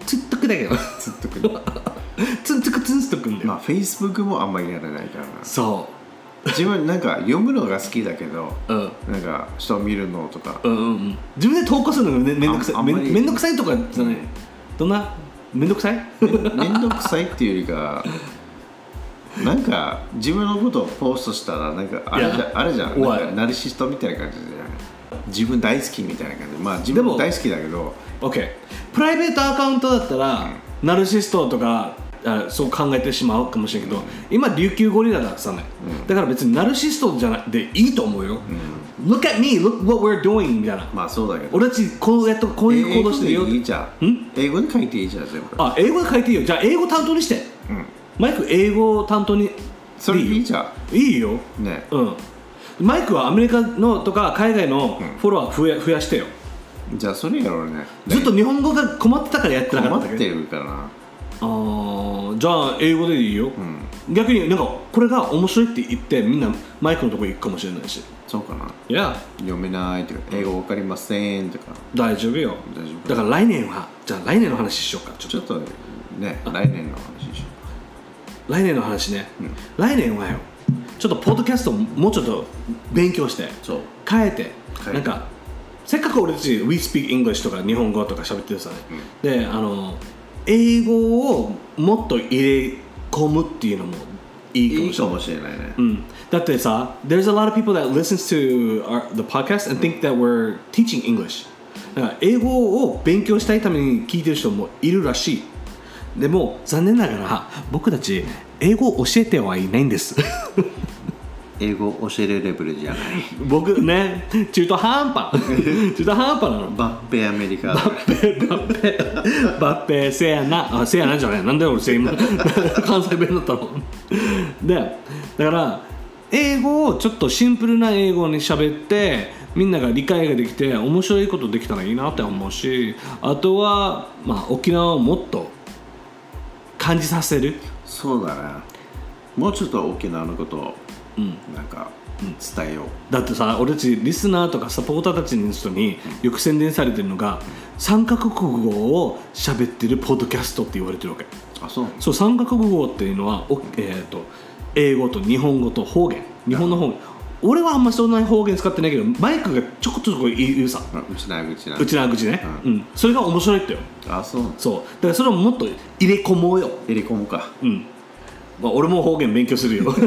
ツイットクだけどツイットクツイットクツイットクんだよまあフェイスブックもあんまりやらないからなそう自分なんか読むのが好きだけど、うん、なんか人を見るのとか、 うんうんうん、自分で投稿するのがめんどくさいめんどくさいとかじゃない、うんどんなめんどくさいめんどくさいっていうよりかなんか自分のことをポストしたらなんかあれじゃあれじゃんなんかナルシストみたいな感じじゃん自分大好きみたいな感じまあ自分も大好きだけど OK プライベートアカウントだったら、うん、ナルシストとかあそう考えてしまうかもしれんけど、うん、今琉球ゴリラださね、うん、だから別にナルシストじゃなくていいと思うよ、うん、Look at me, look what we're doing みたいなまあそうだけど俺たちこうやっとこういう行動してるよいいじゃんん英語で書いていいじゃん全部あ英語で書いていいよじゃあ英語担当にして、うん、マイク英語担当にそれいいじゃんいいよねうんマイクはアメリカのとか海外のフォロワー増や、増やしてよじゃあそれやろうねずっと日本語が困ってたからやってなかった困ってるからなあじゃあ英語でいいよ、うん、逆になんかこれが面白いって言ってみんなマイクのとこ行くかもしれないしそうかな。 いや読めないとか英語わかりませんとか大丈夫よ大丈夫だから来年はじゃあ来年の話しようかちょっとね来年の話しよう来年の話ね、うん、来年はよちょっとポッドキャストもうちょっと勉強してそう変えてなんかせっかく俺たち We Speak English とか日本語とか喋ってるさね、うん、であの英語をもっと入れ込むっていうのもいいかもしれない。 いいかもしれないね。 うん。だってさ、there's a lot of people that listens to our, the podcast and think that we're teaching English。だから英語を勉強したいために聞いてる人もいるらしい。でも残念ながら僕たち英語を教えてはいないんです。 英語を教えるレベルじゃない僕ね中途半端中途半端なのバッペアメリカバッペバッペバッペせやなあせやなじゃないなんで俺せ今関西弁だったのでだから英語をちょっとシンプルな英語に喋ってみんなが理解ができて面白いことできたらいいなって思うしあとは、まあ、沖縄をもっと感じさせるそうだねもうちょっと沖縄のことをうん、なんか、うん、伝えようだってさ俺たちリスナーとかサポーターたちの人によく宣伝されてるのが、うん、さんカ国語を喋ってるポッドキャストって言われてるわけあそうそうさんカ国語っていうのは、えー、と英語と日本語と方言日本の方言俺はあんまそんなに方言使ってないけどマイクがちょこちょこ言うさうちな口なうちな口ね、うんうん、それが面白いってよあそうそうだからそれをもっと入れ込もうよ入れ込むかうんまあ、俺も方言勉強するよ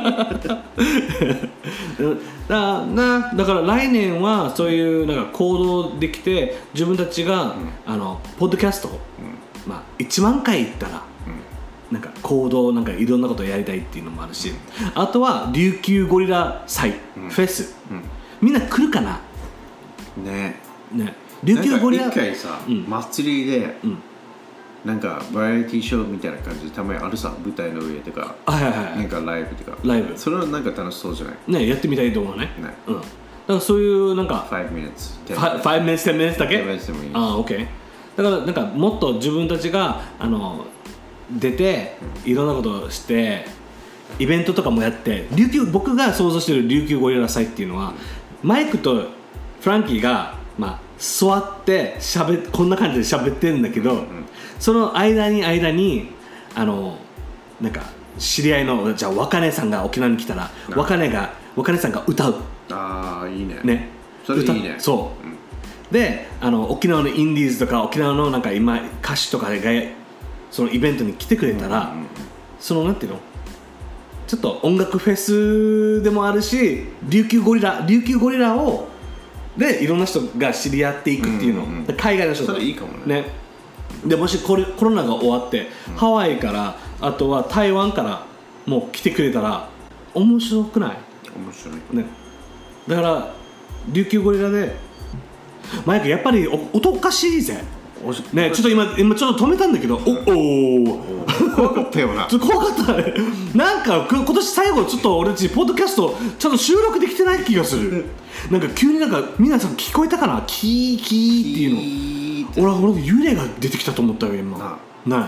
だ, なだから来年はそういうなんか行動できて自分たちが、うん、あのポッドキャストを、うんまあ、いちまんかい行ったら、うん、なんか行動なんかいろんなことをやりたいっていうのもあるし、うん、あとは琉球ゴリラ祭、うん、フェス、うん、みんな来るかなねね琉球ゴリラ一回さ、うん、祭りで、うんなんかバラエティーショーみたいな感じでたまにあるさ、舞台の上とか、 はいはいはい、 なんかライブとか、 ライブ、 それはなんか楽しそうじゃない？ ね、やってみたいと思うね。 ね、 うん。だからそういうなんか five minutes、 ファイブ minutes、ten minutes だけ？ ten minutes でもいい。 ああ、OK。だからなんかもっと自分たちがあの出ていろんなことをしてイベントとかもやって琉球僕が想像している琉球ゴリラ祭っていうのはマイクとフランキーがまあ座ってしゃべこんな感じで喋ってるんだけど、うん、その間に間にあのなんか知り合いのじゃあ若音さんが沖縄に来たら若音が若音さんが歌う。 ああいいね。 ね。 それいいね。 そう。うんであの沖縄のインディーズとか沖縄のなんか今歌手とかがそのイベントに来てくれたら、うんうんうん、そのなんていうのちょっと音楽フェスでもあるし琉球ゴリラ琉球ゴリラをでいろんな人が知り合っていくっていうの、うんうん、海外の人とそれいいかもね。 ねでもしコロナが終わって、うん、ハワイからあとは台湾からもう来てくれたら面白くない？ 面白いね。だから琉球ゴリラでマイクやっぱり音おかしいぜね、ちょっと今今ちょっと止めたんだけど、おお怖かったよな。 ちょっと怖かったね。なんか今年最後ちょっと俺たちポッドキャストちゃんと収録できてない気がする。なんか急になんか皆さん聞こえたかな、キーキーっていうの。俺俺幽霊が出てきたと思ったよ今。ない。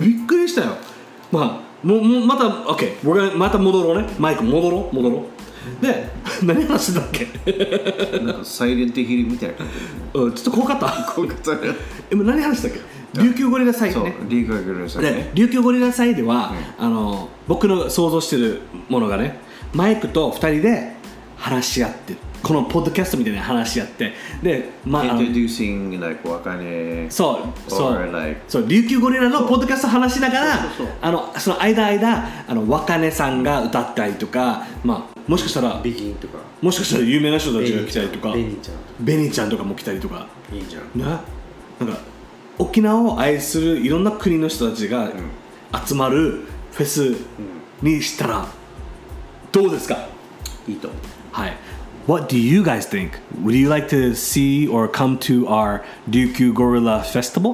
びっくりしたよ。まあももまた OK、俺また戻ろうね。マイク戻ろう戻ろう。で何話してたっけ？ なんかサイレントヒルみたいな感じ、ね、 うん、ちょっと怖かった怖かった今何話したっけ？琉球ゴリラ祭ね。 そう琉球ゴリラ祭ね。 琉球ゴリラ祭では、うん、あの僕の想像してるものがねマイクとふたりで話し合ってこのポッドキャストみたいな話し合ってで、 まあ、Introducing like 若音そうそう、 like、 そう琉球ゴリラのポッドキャスト話しながらあのその間間あの若音さんが歌ったりとか、まあ、もしかしたらビギンとかもしかしたら有名な人たちが来たりとかベニちゃんベニちゃんとかも来たりとかいいじゃんな、なんか沖縄を愛するいろんな国の人たちが集まるフェスにしたらどうですか？ いいと思う。 はい。What do you guys think? Would you like to see or come to our Ryukyu Gorilla Festival?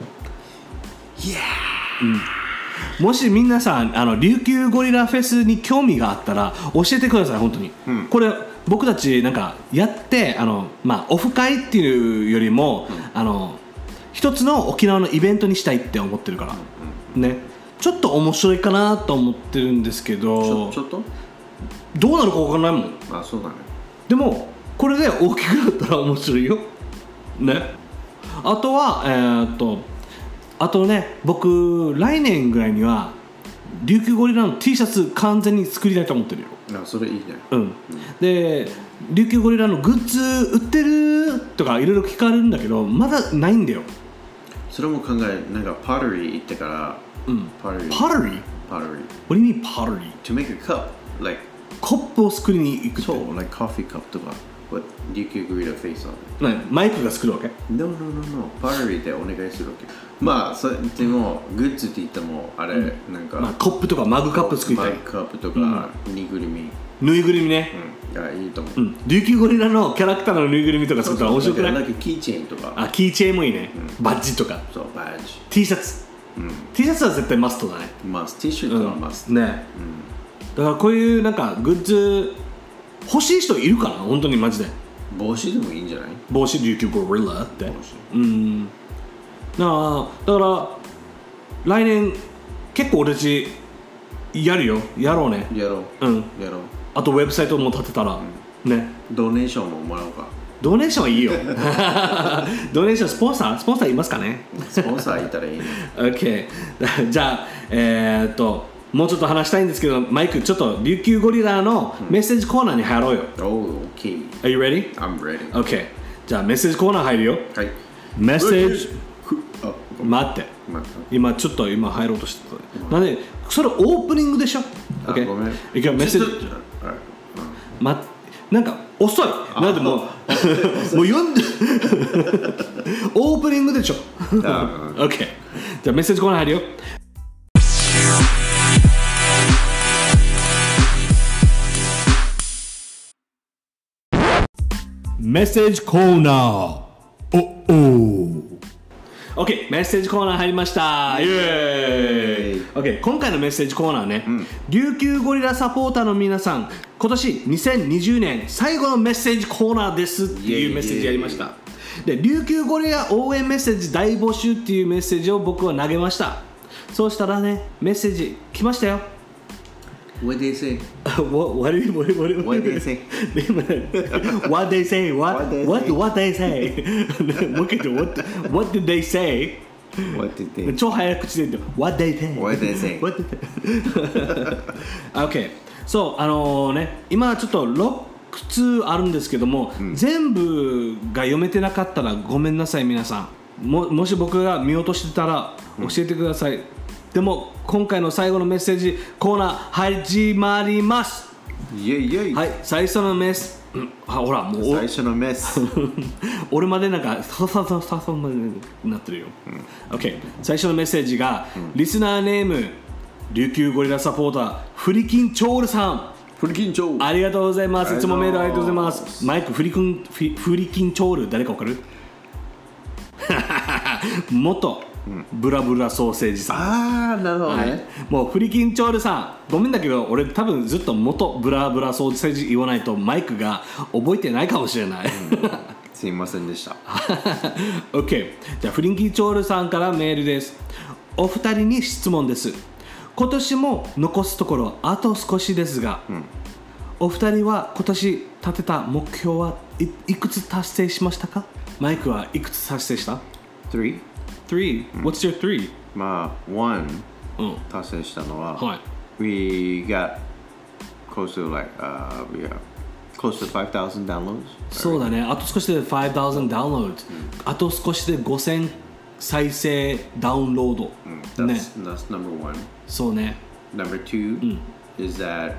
Yeah! うん、もし皆さんあの琉球ゴリラフェスに興味があったら教えてください本当に、うん、これ僕たちなんかやってあの、まあ、オフ会っていうよりも、うん、あの一つの沖縄のイベントにしたいって思ってるから、うん、ねちょっと面白いかなと思ってるんですけどちょ、ちょっとどうなるか分からないもん。 あ、そうだね。 でもこれで大きくなったら面白いよね。あとはえー、っとあとね僕来年ぐらいには琉球ゴリラの T シャツ完全に作りたいと思ってるよ。 あ、それいいね。 うん、うん、で琉球ゴリラのグッズ売ってるとかいろいろ聞かれるんだけどまだないんだよ。 それも考えなんかパトリー行ってから、 うん、パトリーパトリー What do you mean pottery? To make a cup like コップを作りに行くって。 そう、like coffee cup とか But 琉球ゴリラフェイス on it。マイクが作るわけ？ No, no, no, no パトリーでお願いするわけ。まあそれでもグッズって言ってもあれ、うん、なんか、 まあ、コップとかマグカップ作りたい。 マグカップとか、うん、ぬいぐるみぬいぐるみね、 うん、がいいと思う、 うん、琉球ゴリラのキャラクターのぬいぐるみとか作ったら面白くない？ なんかキーチェーンとか。 あ、キーチェーンもいいね、うん、バッジとか。 そう、バッジ T シャツ、うん、T シャツは絶対マストだね。 マスト T シャツはマスト、 うん、ね、うん、だからこういうなんかグッズ欲しい人いるかな本当にマジで。 帽子でもいいんじゃない？ 帽子琉球ゴリラって帽子、 うん、だからだから来年結構俺たちやるよ。やろうね。 やろう、 うん、 やろう。 あとウェブサイトも立てたら、うん、ね。 ドネーションももらおうか。 ドネーションはいいよドネーションスポンサースポンサーいますかね？ スポンサーいたらいいね OK じゃあえー、っともうちょっと話したいんですけどマイクちょっと琉球ゴリラのメッセージコーナーに入ろうよ。 Oh, OK Are you ready? I'm ready OK じゃあメッセージコーナー入るよ。 はい。 メッセージ待って今ちょっと今入ろうとしてた。なんでそれオープニングでしょ。 OK ごめん。 いくよメッセージまなんか遅い。なんでもうもう読んでオープニングでしょOK じゃあメッセージコーナー入るよ。メッセージコーナー。おお OK メッセージコーナー入りました。イエーイ。 OK 今回のメッセージコーナーね、うん、琉球ゴリラサポーターの皆さん、今年にせんにじゅうねん最後のメッセージコーナーですっていうメッセージやりました。で琉球ゴリラ応援メッセージ大募集っていうメッセージを僕は投げました。そうしたらね、メッセージ来ましたよ。 What they say? what what what what what they say? What they say? What what what they say? もう一回言って What what did they say? What did they? 超早口で言って What they say? What they say? What did they? Okay. そうあのー、ね今ちょっとろっつうあるんですけども、うん、全部が読めてなかったらごめんなさい皆さん。ももし僕が見落としてたら教えてください。うん、でも今回の最後のメッセージコーナー始まります。 イエイイエイ。 はい、最初のメス、うん、あほらもう最初のメス俺までなんかサササササまでなってるよ、うん、OK 最初のメッセージが、うん、リスナーネーム琉球ゴリラサポーターフリキンチョールさん。 フリキンチョールありがとうございます。いつもメールありがとうございます。マイクフリキンフリキンチョール誰かわかる？元ブラブラソーセージさん。 ああなるほどね、はい、 もうフリキンチョールさんごめんだけど俺多分ずっと元ブラブラソーセージ言わないとマイクが覚えてないかもしれない、うん、 すいませんでした。 OK じゃあフリキンチョールさんからメールです。お二人に質問です。今年も残すところあと少しですが、うん、お二人は今年立てた目標はい、いくつ達成しましたか？マイクはいくつ達成した？ Three Three? What's your three? まあ One、うん、達成したのは、はい、We got close to like、uh, we got close to five thousand downloads. そうだね。あと少しで five thousand downloads、うん、あと少しでごせん再生ダウンロード、 うん、ね。That's, that's number one. そうね。 Number two、うん、is that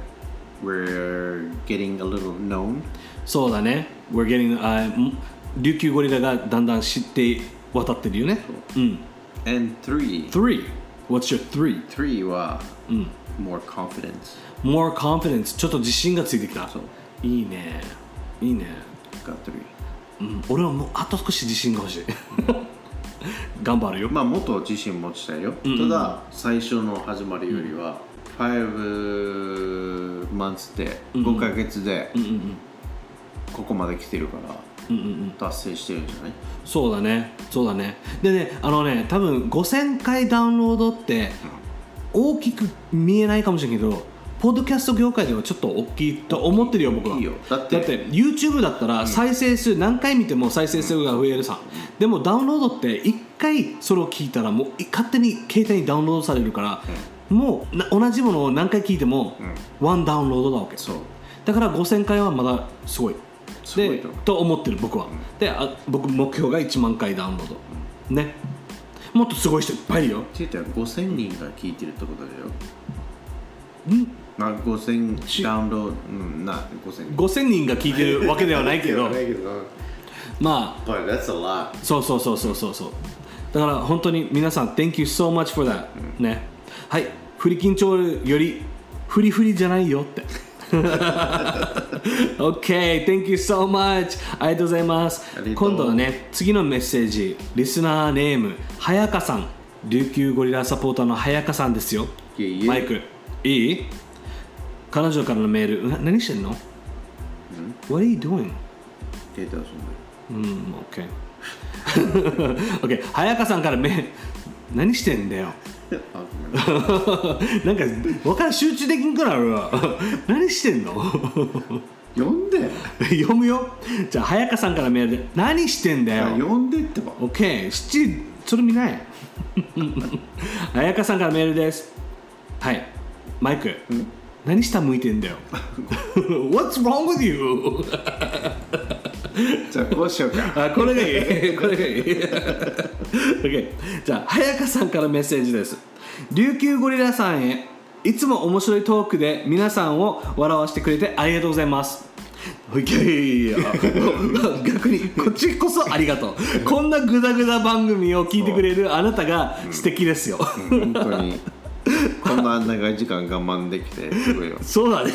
we're getting a little known. そうだね。We're getting、uh, 琉球ゴリラがだんだん知って渡ってるよね。うん。 And three. Three. What's your three? Three は、うん、more confidence. More confidence. ちょっと自信がついてきた。そう。いいね。いいね。 Got three. うん。俺はもうあと少し自信が欲しい。頑張るよ。 まあもっと自信持ちたいよ。うんうん、ただ最初の始まりよりは、うん、five months でごかげつでここまで来てるから。うんうんうん、達成してるんじゃない？ そうだねそうだね。でねあのね多分ごせんかいダウンロードって大きく見えないかもしれないけど、ポッドキャスト業界ではちょっと大きいと思ってるよ僕は。いいよ。だってだって YouTube だったら再生数、うん、何回見ても再生数が増えるさ、うん、でもダウンロードっていっかいそれを聞いたらもう勝手に携帯にダウンロードされるから、うん、もう同じものを何回聞いてもワンダウンロードなわけ。そうだからごせんかいはまだすごいでと思ってる僕は、うん、であ僕目標がいちまんかいダウンロード、うん、ねもっとすごい人いっぱいいるよ。 って言ったらごせんにんが聞いてるってことだよ。んまあごせんダウンロード、うん、なごせんにんごせんにんが聞いてるわけではないけどまあ But that's a lot. そうそうそうそうそうそうだから本当に皆さん Thank you so much for that、うん、ねはいフリキンチョールよりフリフリじゃないよってOK, thank you so much. ありがとうございます。今度はね、次のメッセージ、リスナーネーム、はやかさん。琉球ゴリラサポーターのはやかさんですよ。 いいマイク、いい？彼女からのメール、な何してんの？ What are you doing? データ遊んでる。 うん、OK。OK、はやかさんからメール、何してんだよ。なんか分からん集中できんくなるわ何してんの読んで読むよ。じゃあ早川さんからメールで何してんだよ読んでってば OK 七それ見ない早川さんからメールです。はいマイク何下向いてんだよWhat's wrong with you じゃあこうしようかあこれがいいこれがいいOK じゃあ早川さんからメッセージです。琉球ゴリラさんへいつも面白いトークで皆さんを笑わせてくれてありがとうございます。いや逆にこっちこそありがとうこんなグダグダ番組を聞いてくれるあなたが素敵ですよ、 うん、本当にこんな長い時間我慢できてすごいよそうだね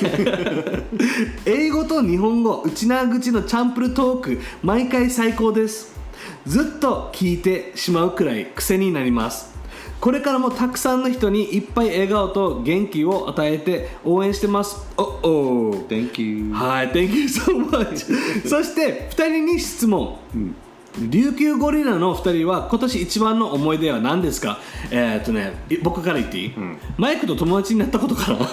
英語と日本語内縄口のチャンプルトーク毎回最高です。 ずっと聞いてしまうくらい癖になります。これからもたくさんの人にいっぱい笑顔と元気を与えて応援してます。おお Thank you。 はい Thank you so much そしてふたりに質問、うん、琉球ゴリラのふたりは今年一番の思い出は何ですか？えー、っとね僕から言っていい、うん、マイクと友達になったことかな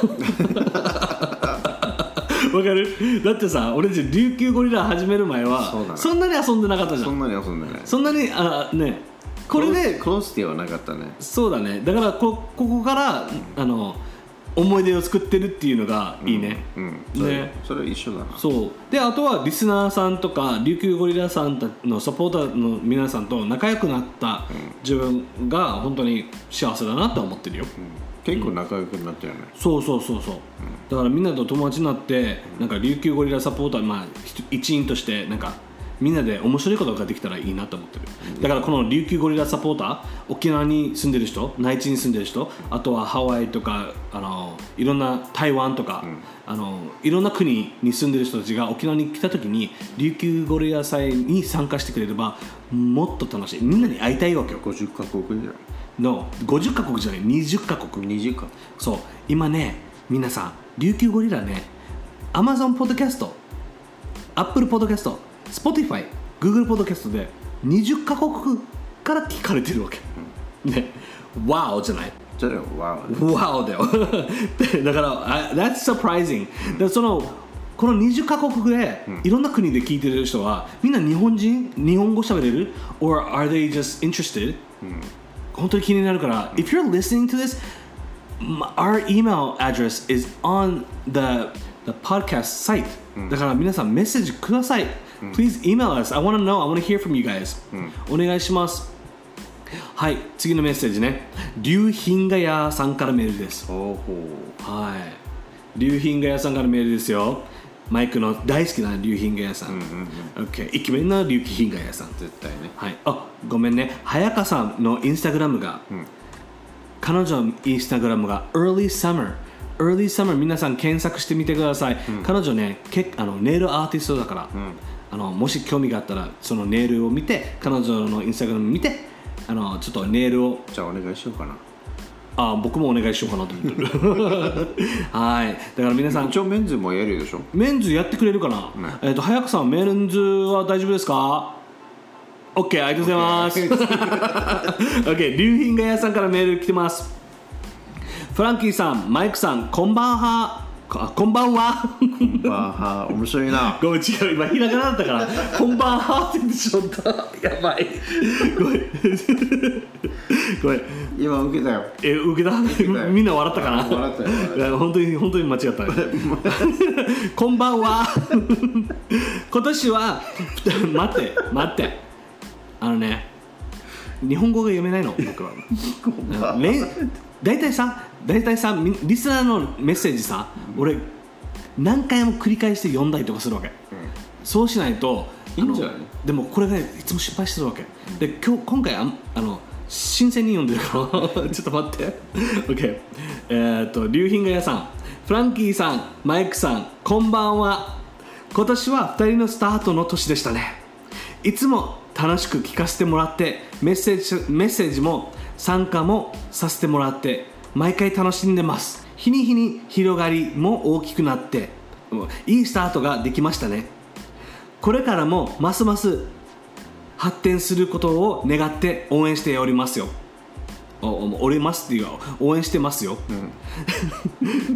わかる？だってさ俺たち琉球ゴリラ始める前は そ, そんなに遊んでなかったじゃん。 そんなに遊んでない。 そんなにあねこれでクロスティはなかったね。 そうだね。だからこここから、うん、あの思い出を作ってるっていうのがいいね。 うん、うん、それね、それ一緒だな。 そうであとはリスナーさんとか琉球ゴリラさんのサポーターの皆さんと仲良くなった自分が本当に幸せだなと思ってるよ。うん結構仲良くなったよね、 うん、そうそうそうそう、うん、だからみんなと友達になって、うん、なんか琉球ゴリラサポーター、まあ、一員としてなんかみんなで面白いことができたらいいなと思ってる、うん、だからこの琉球ゴリラサポーター沖縄に住んでる人内地に住んでる人あとはハワイとかあのいろんな台湾とか、うん、あのいろんな国に住んでる人たちが沖縄に来た時に琉球ゴリラ祭に参加してくれればもっと楽しい。みんなに会いたいわけよ。 ごじゅっカ国じゃないのごじゅっカ国じゃないにじゅっカ国にじゅっかそう今ね皆さん琉球ゴリラね Amazon ポッドキャスト Apple ポッドキャスト Spotify Google ポッドキャストでにじゅっカ国から聞かれてるわけ、うん、ね Wow じゃないじゃあ Wow Wow だよだから That's surprising、うん、だからそのこのにじゅっカ国で、うん、いろんな国で聞いてる人はみんな日本人日本語喋れる Or are they just interested、うん本当に気になるから、if you're listening to this, our email address is on the, the podcast site、うん、だから皆さんメッセージください、うん、Please email us. I want to know. I want to hear from you guys、うん、お願いします。はい次のメッセージね龍品がやさんからメールです。はい龍品がやさんからメールですよ。マイクの大好きな龍品がやさん、うんうんうん、OK イケメンな龍品がやさん絶対ね。 はいあごめんね早川さんのインスタグラムが、うん、彼女のインスタグラムが Early Summer Early Summer 皆さん検索してみてください、うん、彼女ねけあのネイルアーティストだから、うん、あのもし興味があったらそのネイルを見て彼女のインスタグラム見てあのちょっとネイルをじゃあお願いしようかな。 あ僕もお願いしようかなと思ってるはいだから皆さん一応メンズもやるでしょ。 メンズやってくれるかな、ねえー、と早川さんメンズは大丈夫ですか？ OK ありがとうございます OK 龍品が屋さんからメール来てます。フランキーさんマイクさんこんばんはあこんばんはこんばんは面白いなごめん違う今ひらがなだったからこんばんはって言ってしまったやばいごめんごめん今受けたよ。 え受けたみんな笑ったかな。 笑ったよ本当に本当に間違ったこんばんは今年は待って待ってあのね日本語が読めないの僕はだいたいさだいたいさリスナーのメッセージさ、うん、俺何回も繰り返して読んだりとかするわけ、うん、そうしないといいんじゃない？ でもこれが、ね、いつも失敗してるわけ、うん、で今日今回ああの新鮮に読んでるからちょっと待って OK えーっと龍品が屋さんフランキーさんマイクさんこんばんは。今年はふたりのスタートの年でしたね。いつも楽しく聞かせてもらってメッセージ、メッセージも参加もさせてもらって毎回楽しんでます。日に日に広がりも大きくなっていいスタートができましたね。これからもますます発展することを願って応援しておりますよ。おりますっていう応援してますよ、うん、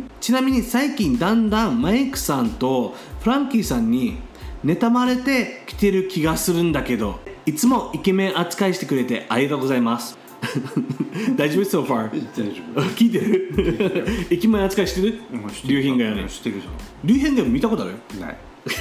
ちなみに最近だんだんマイクさんとフランキーさんに妬まれてきてる気がするんだけどいつもイケメン扱いしてくれてありがとうございます大丈夫 so far 大丈夫聞いてるイケメン扱いしてる龍品がやねしてるじゃん。 龍品が見たことある？ ない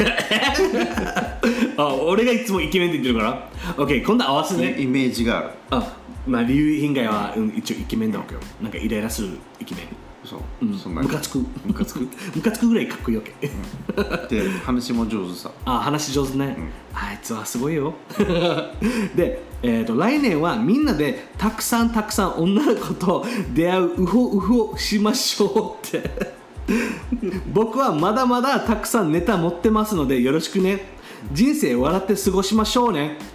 あ俺がいつもイケメンって言ってるから OK 今度合わせねイメージがある。 あまあ龍品がは、うん、一応イケメンだわけよ。なんかイライラするイケメン。 そう、 うん、そんなムカつくムカつくムカつくぐらいかっこいいわけ、 うん、で話も上手さあ話上手ね、うん、あいつはすごいよで、えーと、来年はみんなでたくさんたくさん女の子と出会うウホウホしましょうって僕はまだまだたくさんネタ持ってますのでよろしくね。人生笑って過ごしましょうね。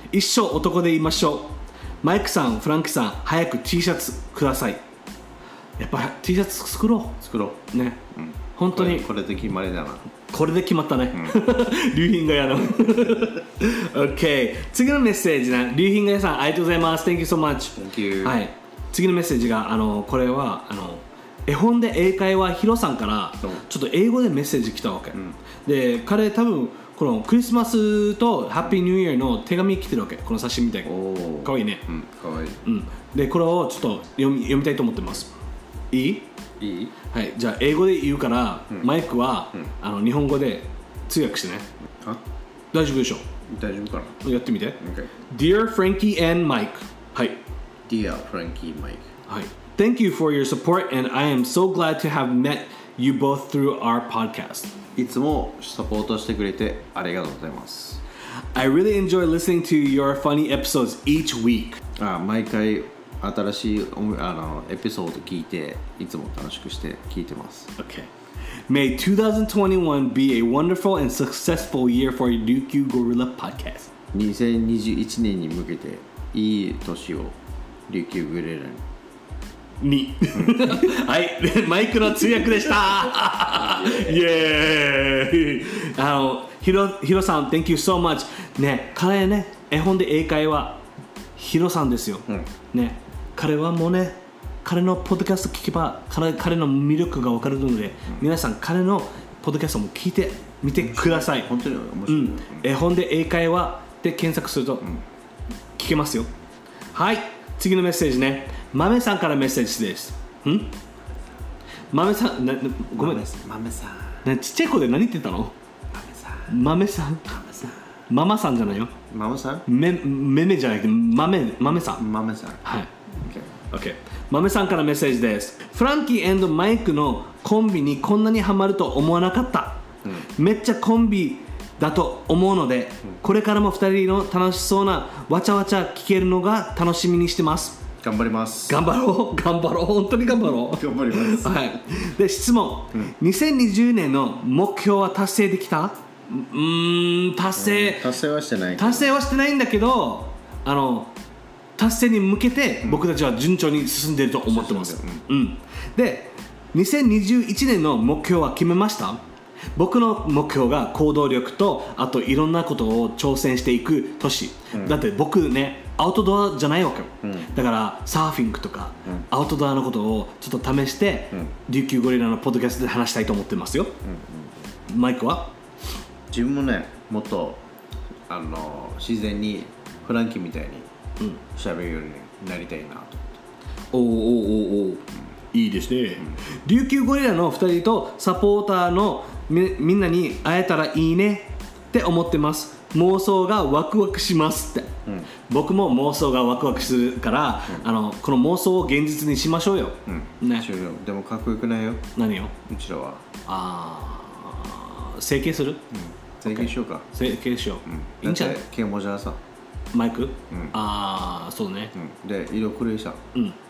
一生男でいましょう。マイクさん、フランキーさん、早く T シャツください。やっぱ T シャツ作ろう。 作ろう。ね。うん、本当にこれ。これで決まりだな。 これで決まったね。龍品がやの。OK。次のメッセージね。龍品がやさん、ありがとうございます。Thank you so much. Thank you. はい。次のメッセージが、あの、これは、あの、絵本で英会話ヒロさんからちょっと英語でメッセージ来たわけ、うん、で彼多分このクリスマスとハッピーニューイヤーの手紙来てるわけ。この写真みたいなかわいいね、 うん、かわいい、 うん、でこれをちょっと読み、読みたいと思ってます。いい？ いい？ はい、じゃあ英語で言うから、うん、マイクは、うん、あの日本語で通訳してね。あ、大丈夫でしょ？ 大丈夫かな？ やってみて、 okay. Dear Frankie and Mike。 はい、 Dear Frankie and Mike。 はい、Thank you for your support and I am so glad to have met you both through our podcast。 いつもサポートしてくれてありがとうございます。 I really enjoy listening to your funny episodes each week。 あ、毎回新しいあのエピソード聞いていつも楽しくして聞いてます。 Okay. May twenty twenty-one be a wonderful and successful year for Ryukyu Gorilla Podcast。 にせんにじゅういちねんに向けていい年を琉球ゴリラににはいマイクの通訳でしたイエーイ。あのヒロヒロさん Thank you so much。 ね、彼ね絵本で英会話ヒロさんですよ、うん、ね、彼はもうね彼のポッドキャスト聞けば 彼, 彼の魅力が分かるので、うん、皆さん彼のポッドキャストも聞いてみてください。 本当に面白い、うん、 絵本で英会話で検索すると聞けますよ、うん、はい。次のメッセージね、マメさんからメッセージです。んマメさんなごめん、 マメさん、ちっちゃい子で何言ってたの？マメさん、マメさん、ママさんじゃないよ。 ママさん？ めめめじゃなくてマメマメさん。 マメさん。 はい。OK。OK。マメさんからメッセージです。フランキー&マイクのコンビにこんなにハマると思わなかった。うん、めっちゃコンビだと思うので、うん、これからもふたりの楽しそうなわちゃわちゃ聞けるのが楽しみにしてます。 頑張ります。 頑張ろう頑張ろう本当に頑張ろう頑張ります。 はい。で質問、うん、にせんにじゅうねんの目標は達成できた？うーん達成、 うん、達成はしてない達成はしてないんだけど、あの達成に向けて僕たちは順調に進んでいると思ってます、うんうん、でにせんにじゅういちねんの目標は決めました？僕の目標が行動力とあといろんなことを挑戦していく年、うん、だって僕ねアウトドアじゃないわけよ、うん、だからサーフィングとか、うん、アウトドアのことをちょっと試して、うん、琉球ゴリラのポッドキャストで話したいと思ってますよ、うんうん、マイクは？ 自分もねもっとあの自然にフランキーみたいに喋るようになりたいなと思って、 うん、おーおーおーおー、いいですね、うん、琉球ゴリラのふたりとサポーターの み, みんなに会えたらいいねって思ってます。妄想がワクワクしますって、うん、僕も妄想がワクワクするから、うん、あのこの妄想を現実にしましょうよ、 うんね、でもかっこよくないよ。 何よ？ うちらはああ整形する、うん、 整形しようか。 整形しよう、うん、いいんじゃない？ 毛もじゃさマイク、うん、ああそうね、 うん、で色黒いさ、うんうん、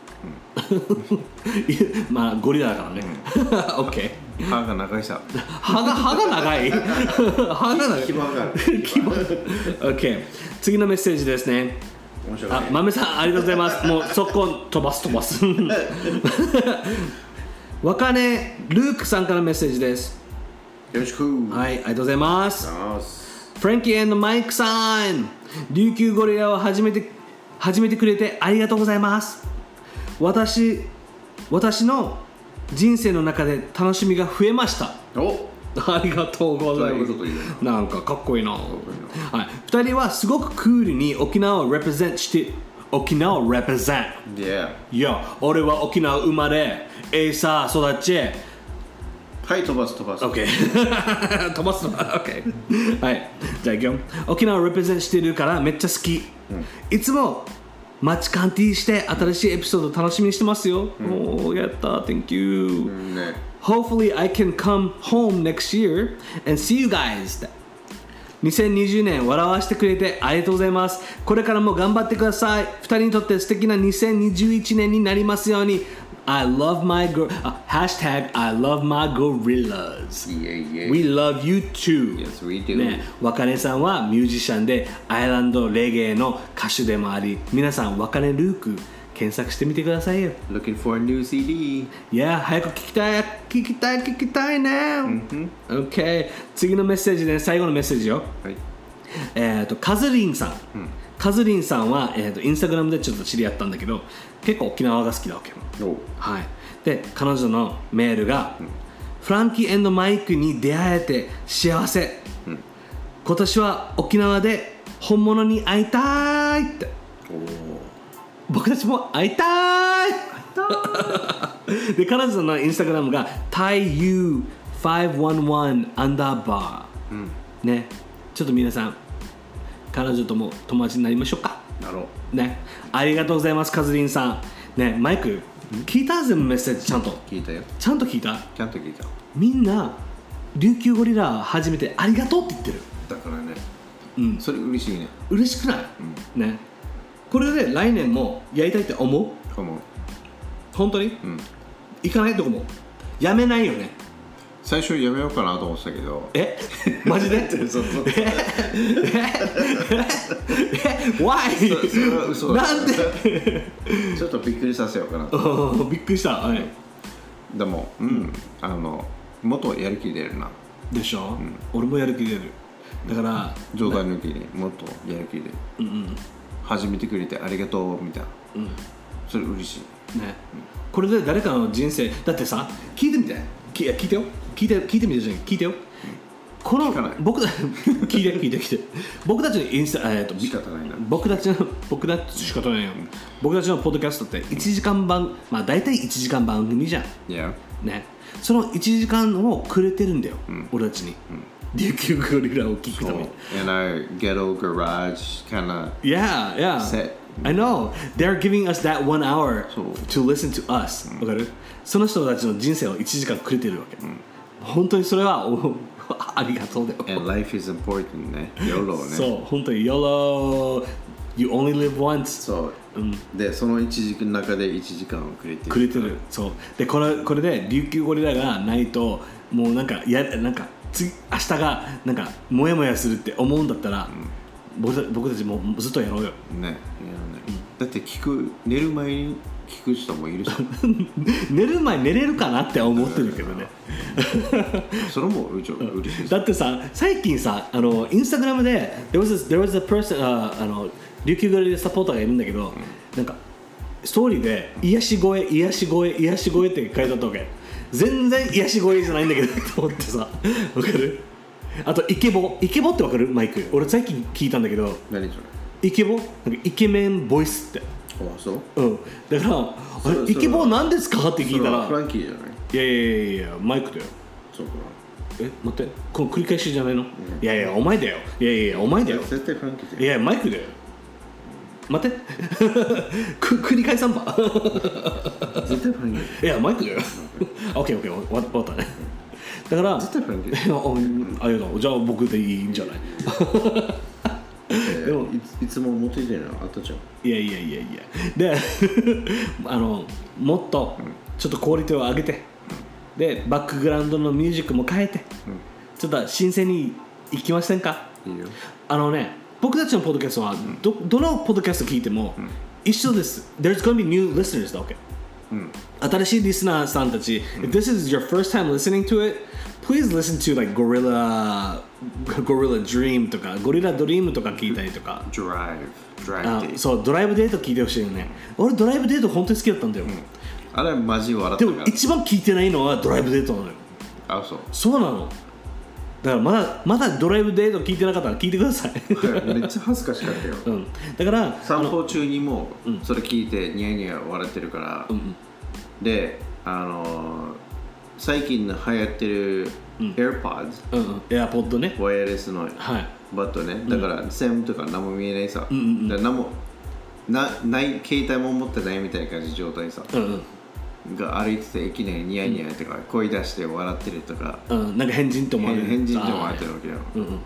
まあゴリラだからね、うん、オッケー。 歯が長いさ。 歯が歯が長い。歯が長い。 牙がある。 牙。オッケー。次のメッセージですね。 面白い、ね。 あ、豆さんありがとうございます。もう速攻飛ばす飛ばす。若音ルークさんからメッセージです。 よろしく。 はい、ありがとうございます。フランキー&マイクさん、琉球ゴリラを始めて始めてくれてありがとうございます。私私の人生の中で楽しみが増えました。 おありがとうございます。なんかかっこいいな。はい、ふたりはすごくクールに沖縄を represent して沖縄を represent。 Yeah。 いや、俺は沖縄生まれ、エイサー育ち。 はい、飛ばす飛ばす。 OK。飛ばす飛ばす。OK。はい、じゃあいくよ。沖縄を represent してるからめっちゃ好き。うん、いつもマッチカンティーして新しいエピソード楽しみにしてますよ。うん、おー、やった。Thank you、うん、ね。Hopefully I can come home next year and see you guys. にせんにじゅうねん笑わせてくれてありがとうございます。これからも頑張ってください。ふたりにとって素敵なにせんにじゅういちねんになりますように。 I love my gor- uh, hashtag I love my gorillas Yeah, yeah. We love you too Yes, we do、 ね、若根さんはミュージシャンでアイランドレゲエの歌手でもあり、皆さん若根ルーク検索してみてくださいよ。 Looking for a new シーディー。 いや、早く聞きたい聞きたい聞きたいね、 mm-hmm. OK 次のメッセージね、最後のメッセージよ、 はい、 えっとカズリンさん、うん、カズリンさんは、えー、とインスタグラムでちょっと知り合ったんだけど、結構沖縄が好きだわけよ、はい、で彼女のメールが、うん、フランキー&マイクに出会えて幸せ、うん、今年は沖縄で本物に会いたいって。僕たちも会いたいで彼女のインスタグラムが タイユーごひゃくじゅういち アンダーバー、うん、ね、ちょっと皆さん彼女とも友達になりましょうか。 なろうね。ありがとうございます、カズリンさんね。マイク聞いた？全部メッセージちゃんと聞いたよ。 ちゃんと聞いた？ ちゃんと聞いた。 みんな琉球ゴリラ始めてありがとうって言ってる。 だからね、 うん、 それ嬉しいね。 嬉しくない？うん、ね。これで来年もやりたいって思う？ 思う。 本当に？ うん。 行かないとこもやめないよね。 最初やめようかなと思ってたけど。 え？マジで？そうそう。え？え？ Why？ そ, それは嘘だ。 なんで？ ちょっとびっくりさせようかなと。 びっくりした。はい。 でも、うん、あのもっとやる気出るな。 でしょ？うん、俺もやる気出る。だから冗談抜きにもっとやる気出る。 うんうん。 始めてくれてありがとうみたいな、うん、それ嬉しいね、うん、 これで誰かの人生だってさ、聞いてみて、聞, 聞いてよ聞いて聞いてみてじゃん、聞いてよ、うん、この僕た聞いて聞いて聞いて僕たちのインスタ、えー、と仕方ないな、 僕たちの僕たち仕方ないよ、うん、僕たちのポッドキャストっていちじかん番、まあ大体いちじかん番組じゃん、 yeah. ね、そのいちじかんをくれてるんだよ、うん、俺たちに、うん琉球ゴリラを聞くために。 In our ghetto garage kind of yeah, yeah. set. I know. They're giving us that one hour to listen to us. わかる？その人たちの人生をいちじかんくれてるわけ。うん、本当にそれはありがとうだよ。 And life is important ね。YOLO ね。 そう、本当に YOLO. You only live once. そう。うん、で、そのいちじかんの中でいちじかんをくれてる。 くれてる。そう。で、これこれで琉球ゴリラがないともうなんかやなんか。次明日がなんかモヤモヤするって思うんだったら、うん、僕, た僕たちもずっとやろうよね。やね、うん、だって聞く寝る前に聞く人もいるし寝る前寝れるかなって思ってるけどねそれもうちょ嬉しい。 だってさ、最近さ、あのインスタグラムで there was a, there was a person、uh, あの琉球ゴリラサポーターがいるんだけど、うん、なんかストーリーで癒し声癒し声癒し声って書いてあったわけ。全然癒し声じゃないんだけどと思ってさ、わかる？あとイケボ、イケボってわかる？マイク。俺最近聞いたんだけど、 何それ？ イケボ？なんかイケメンボイスって。 あ、そう？ うん。だからあれイケボ何ですかって聞いたら、 フランキーじゃない？ いやいやいやいやマイクだよ。 そうか。 え、待って、この繰り返しじゃないの？うん、いやいやお前だよ。いやいやいやお前だよ。 絶対フランキーだよ。 いやマイクだよ。待って繰り返さんば絶対フランキー。 いやマイクだよオッケーオッケー終わったね。だから絶対フランキー。 ありがとう。じゃあ僕でいいんじゃないでも い, いつも持っていてるのあったじゃん。 いやいやいやいやであのもっとちょっとクオリティを上げて、でバックグラウンドのミュージックも変えて、うん、ちょっと新鮮にいきませんか？ いいよ。 あのね、僕たちのポッドキャストは ど, どのポッドキャスト聞いても一緒です。There's gonna be new listeners だわけ、うん、新しいリスナーさんたち、うん、If this is your first time listening to it, please listen to like Gorilla Gorilla Dream とか Gorilla Dream とか聞いたりとか Drive Drive あ、そうドライブデート聞いてほしいよね、うん、俺ドライブデート本当に好きだったんだよ、うん、 あれマジ笑ったから。 でも一番聞いてないのはドライブデートなのよ。 あ、そうそうなの。だからまだまだドライブデート聞いてなかったら聞いてくださいめっちゃ恥ずかしかったよ、 うん、だから散歩中にもそれ聞いてニヤニヤ笑ってるから、うん、で、あのー、最近流行ってる AirPods、 うんうん、AirPod ね、 ワイヤレスのバットね、はい、だから線とか何も見えないさ、うんうんうん、だから何も な, ない携帯も持ってないみたいな感じ状態さ、うんうんが歩いてていきなりニヤニヤとか声出して笑ってるとか、 うん、なんか変人と思われる変人と思われてるわけよ、うんうん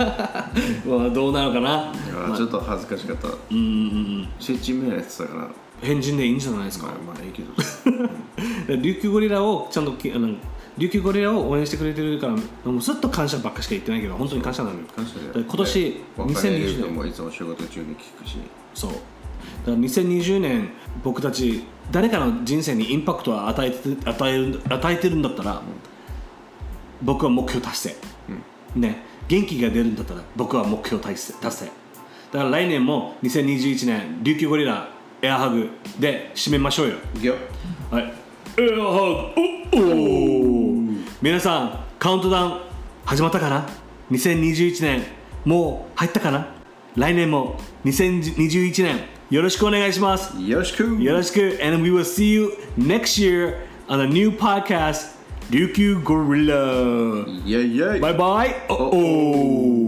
まあどうなのかな。 ちょっと恥ずかしかった。うんうんうん。シェチメやってたから変人でいいんじゃないですか。 まあまあいいけど琉球ゴリラをちゃんとあの琉球ゴリラを応援してくれてるからもうずっと感謝ばっかしか言ってないけど本当に感謝なのよ。 感謝だよ。 今年にせんにじゅうねんもいつも仕事中に聞くし。 そうだからにせんにじゅうねん僕たち誰かの人生にインパクトを与えて与える与えてるんだったら、うん、僕は目標達成、うん、ね元気が出るんだったら僕は目標達成達成だから来年もにせんにじゅういちねん琉球ゴリラエアハグで締めましょうよ。 いくよ。 はい。エアハグ。おお。皆さんカウントダウン始まったかな。にせんにじゅういちねんもう入ったかな。来年もにせんにじゅういちねんよろしくお願いします。 よろしく。 よろしく。And we will see you next year on a new podcast, 琉球ゴリラ。 イェイイェイ。 バイバイ。おお。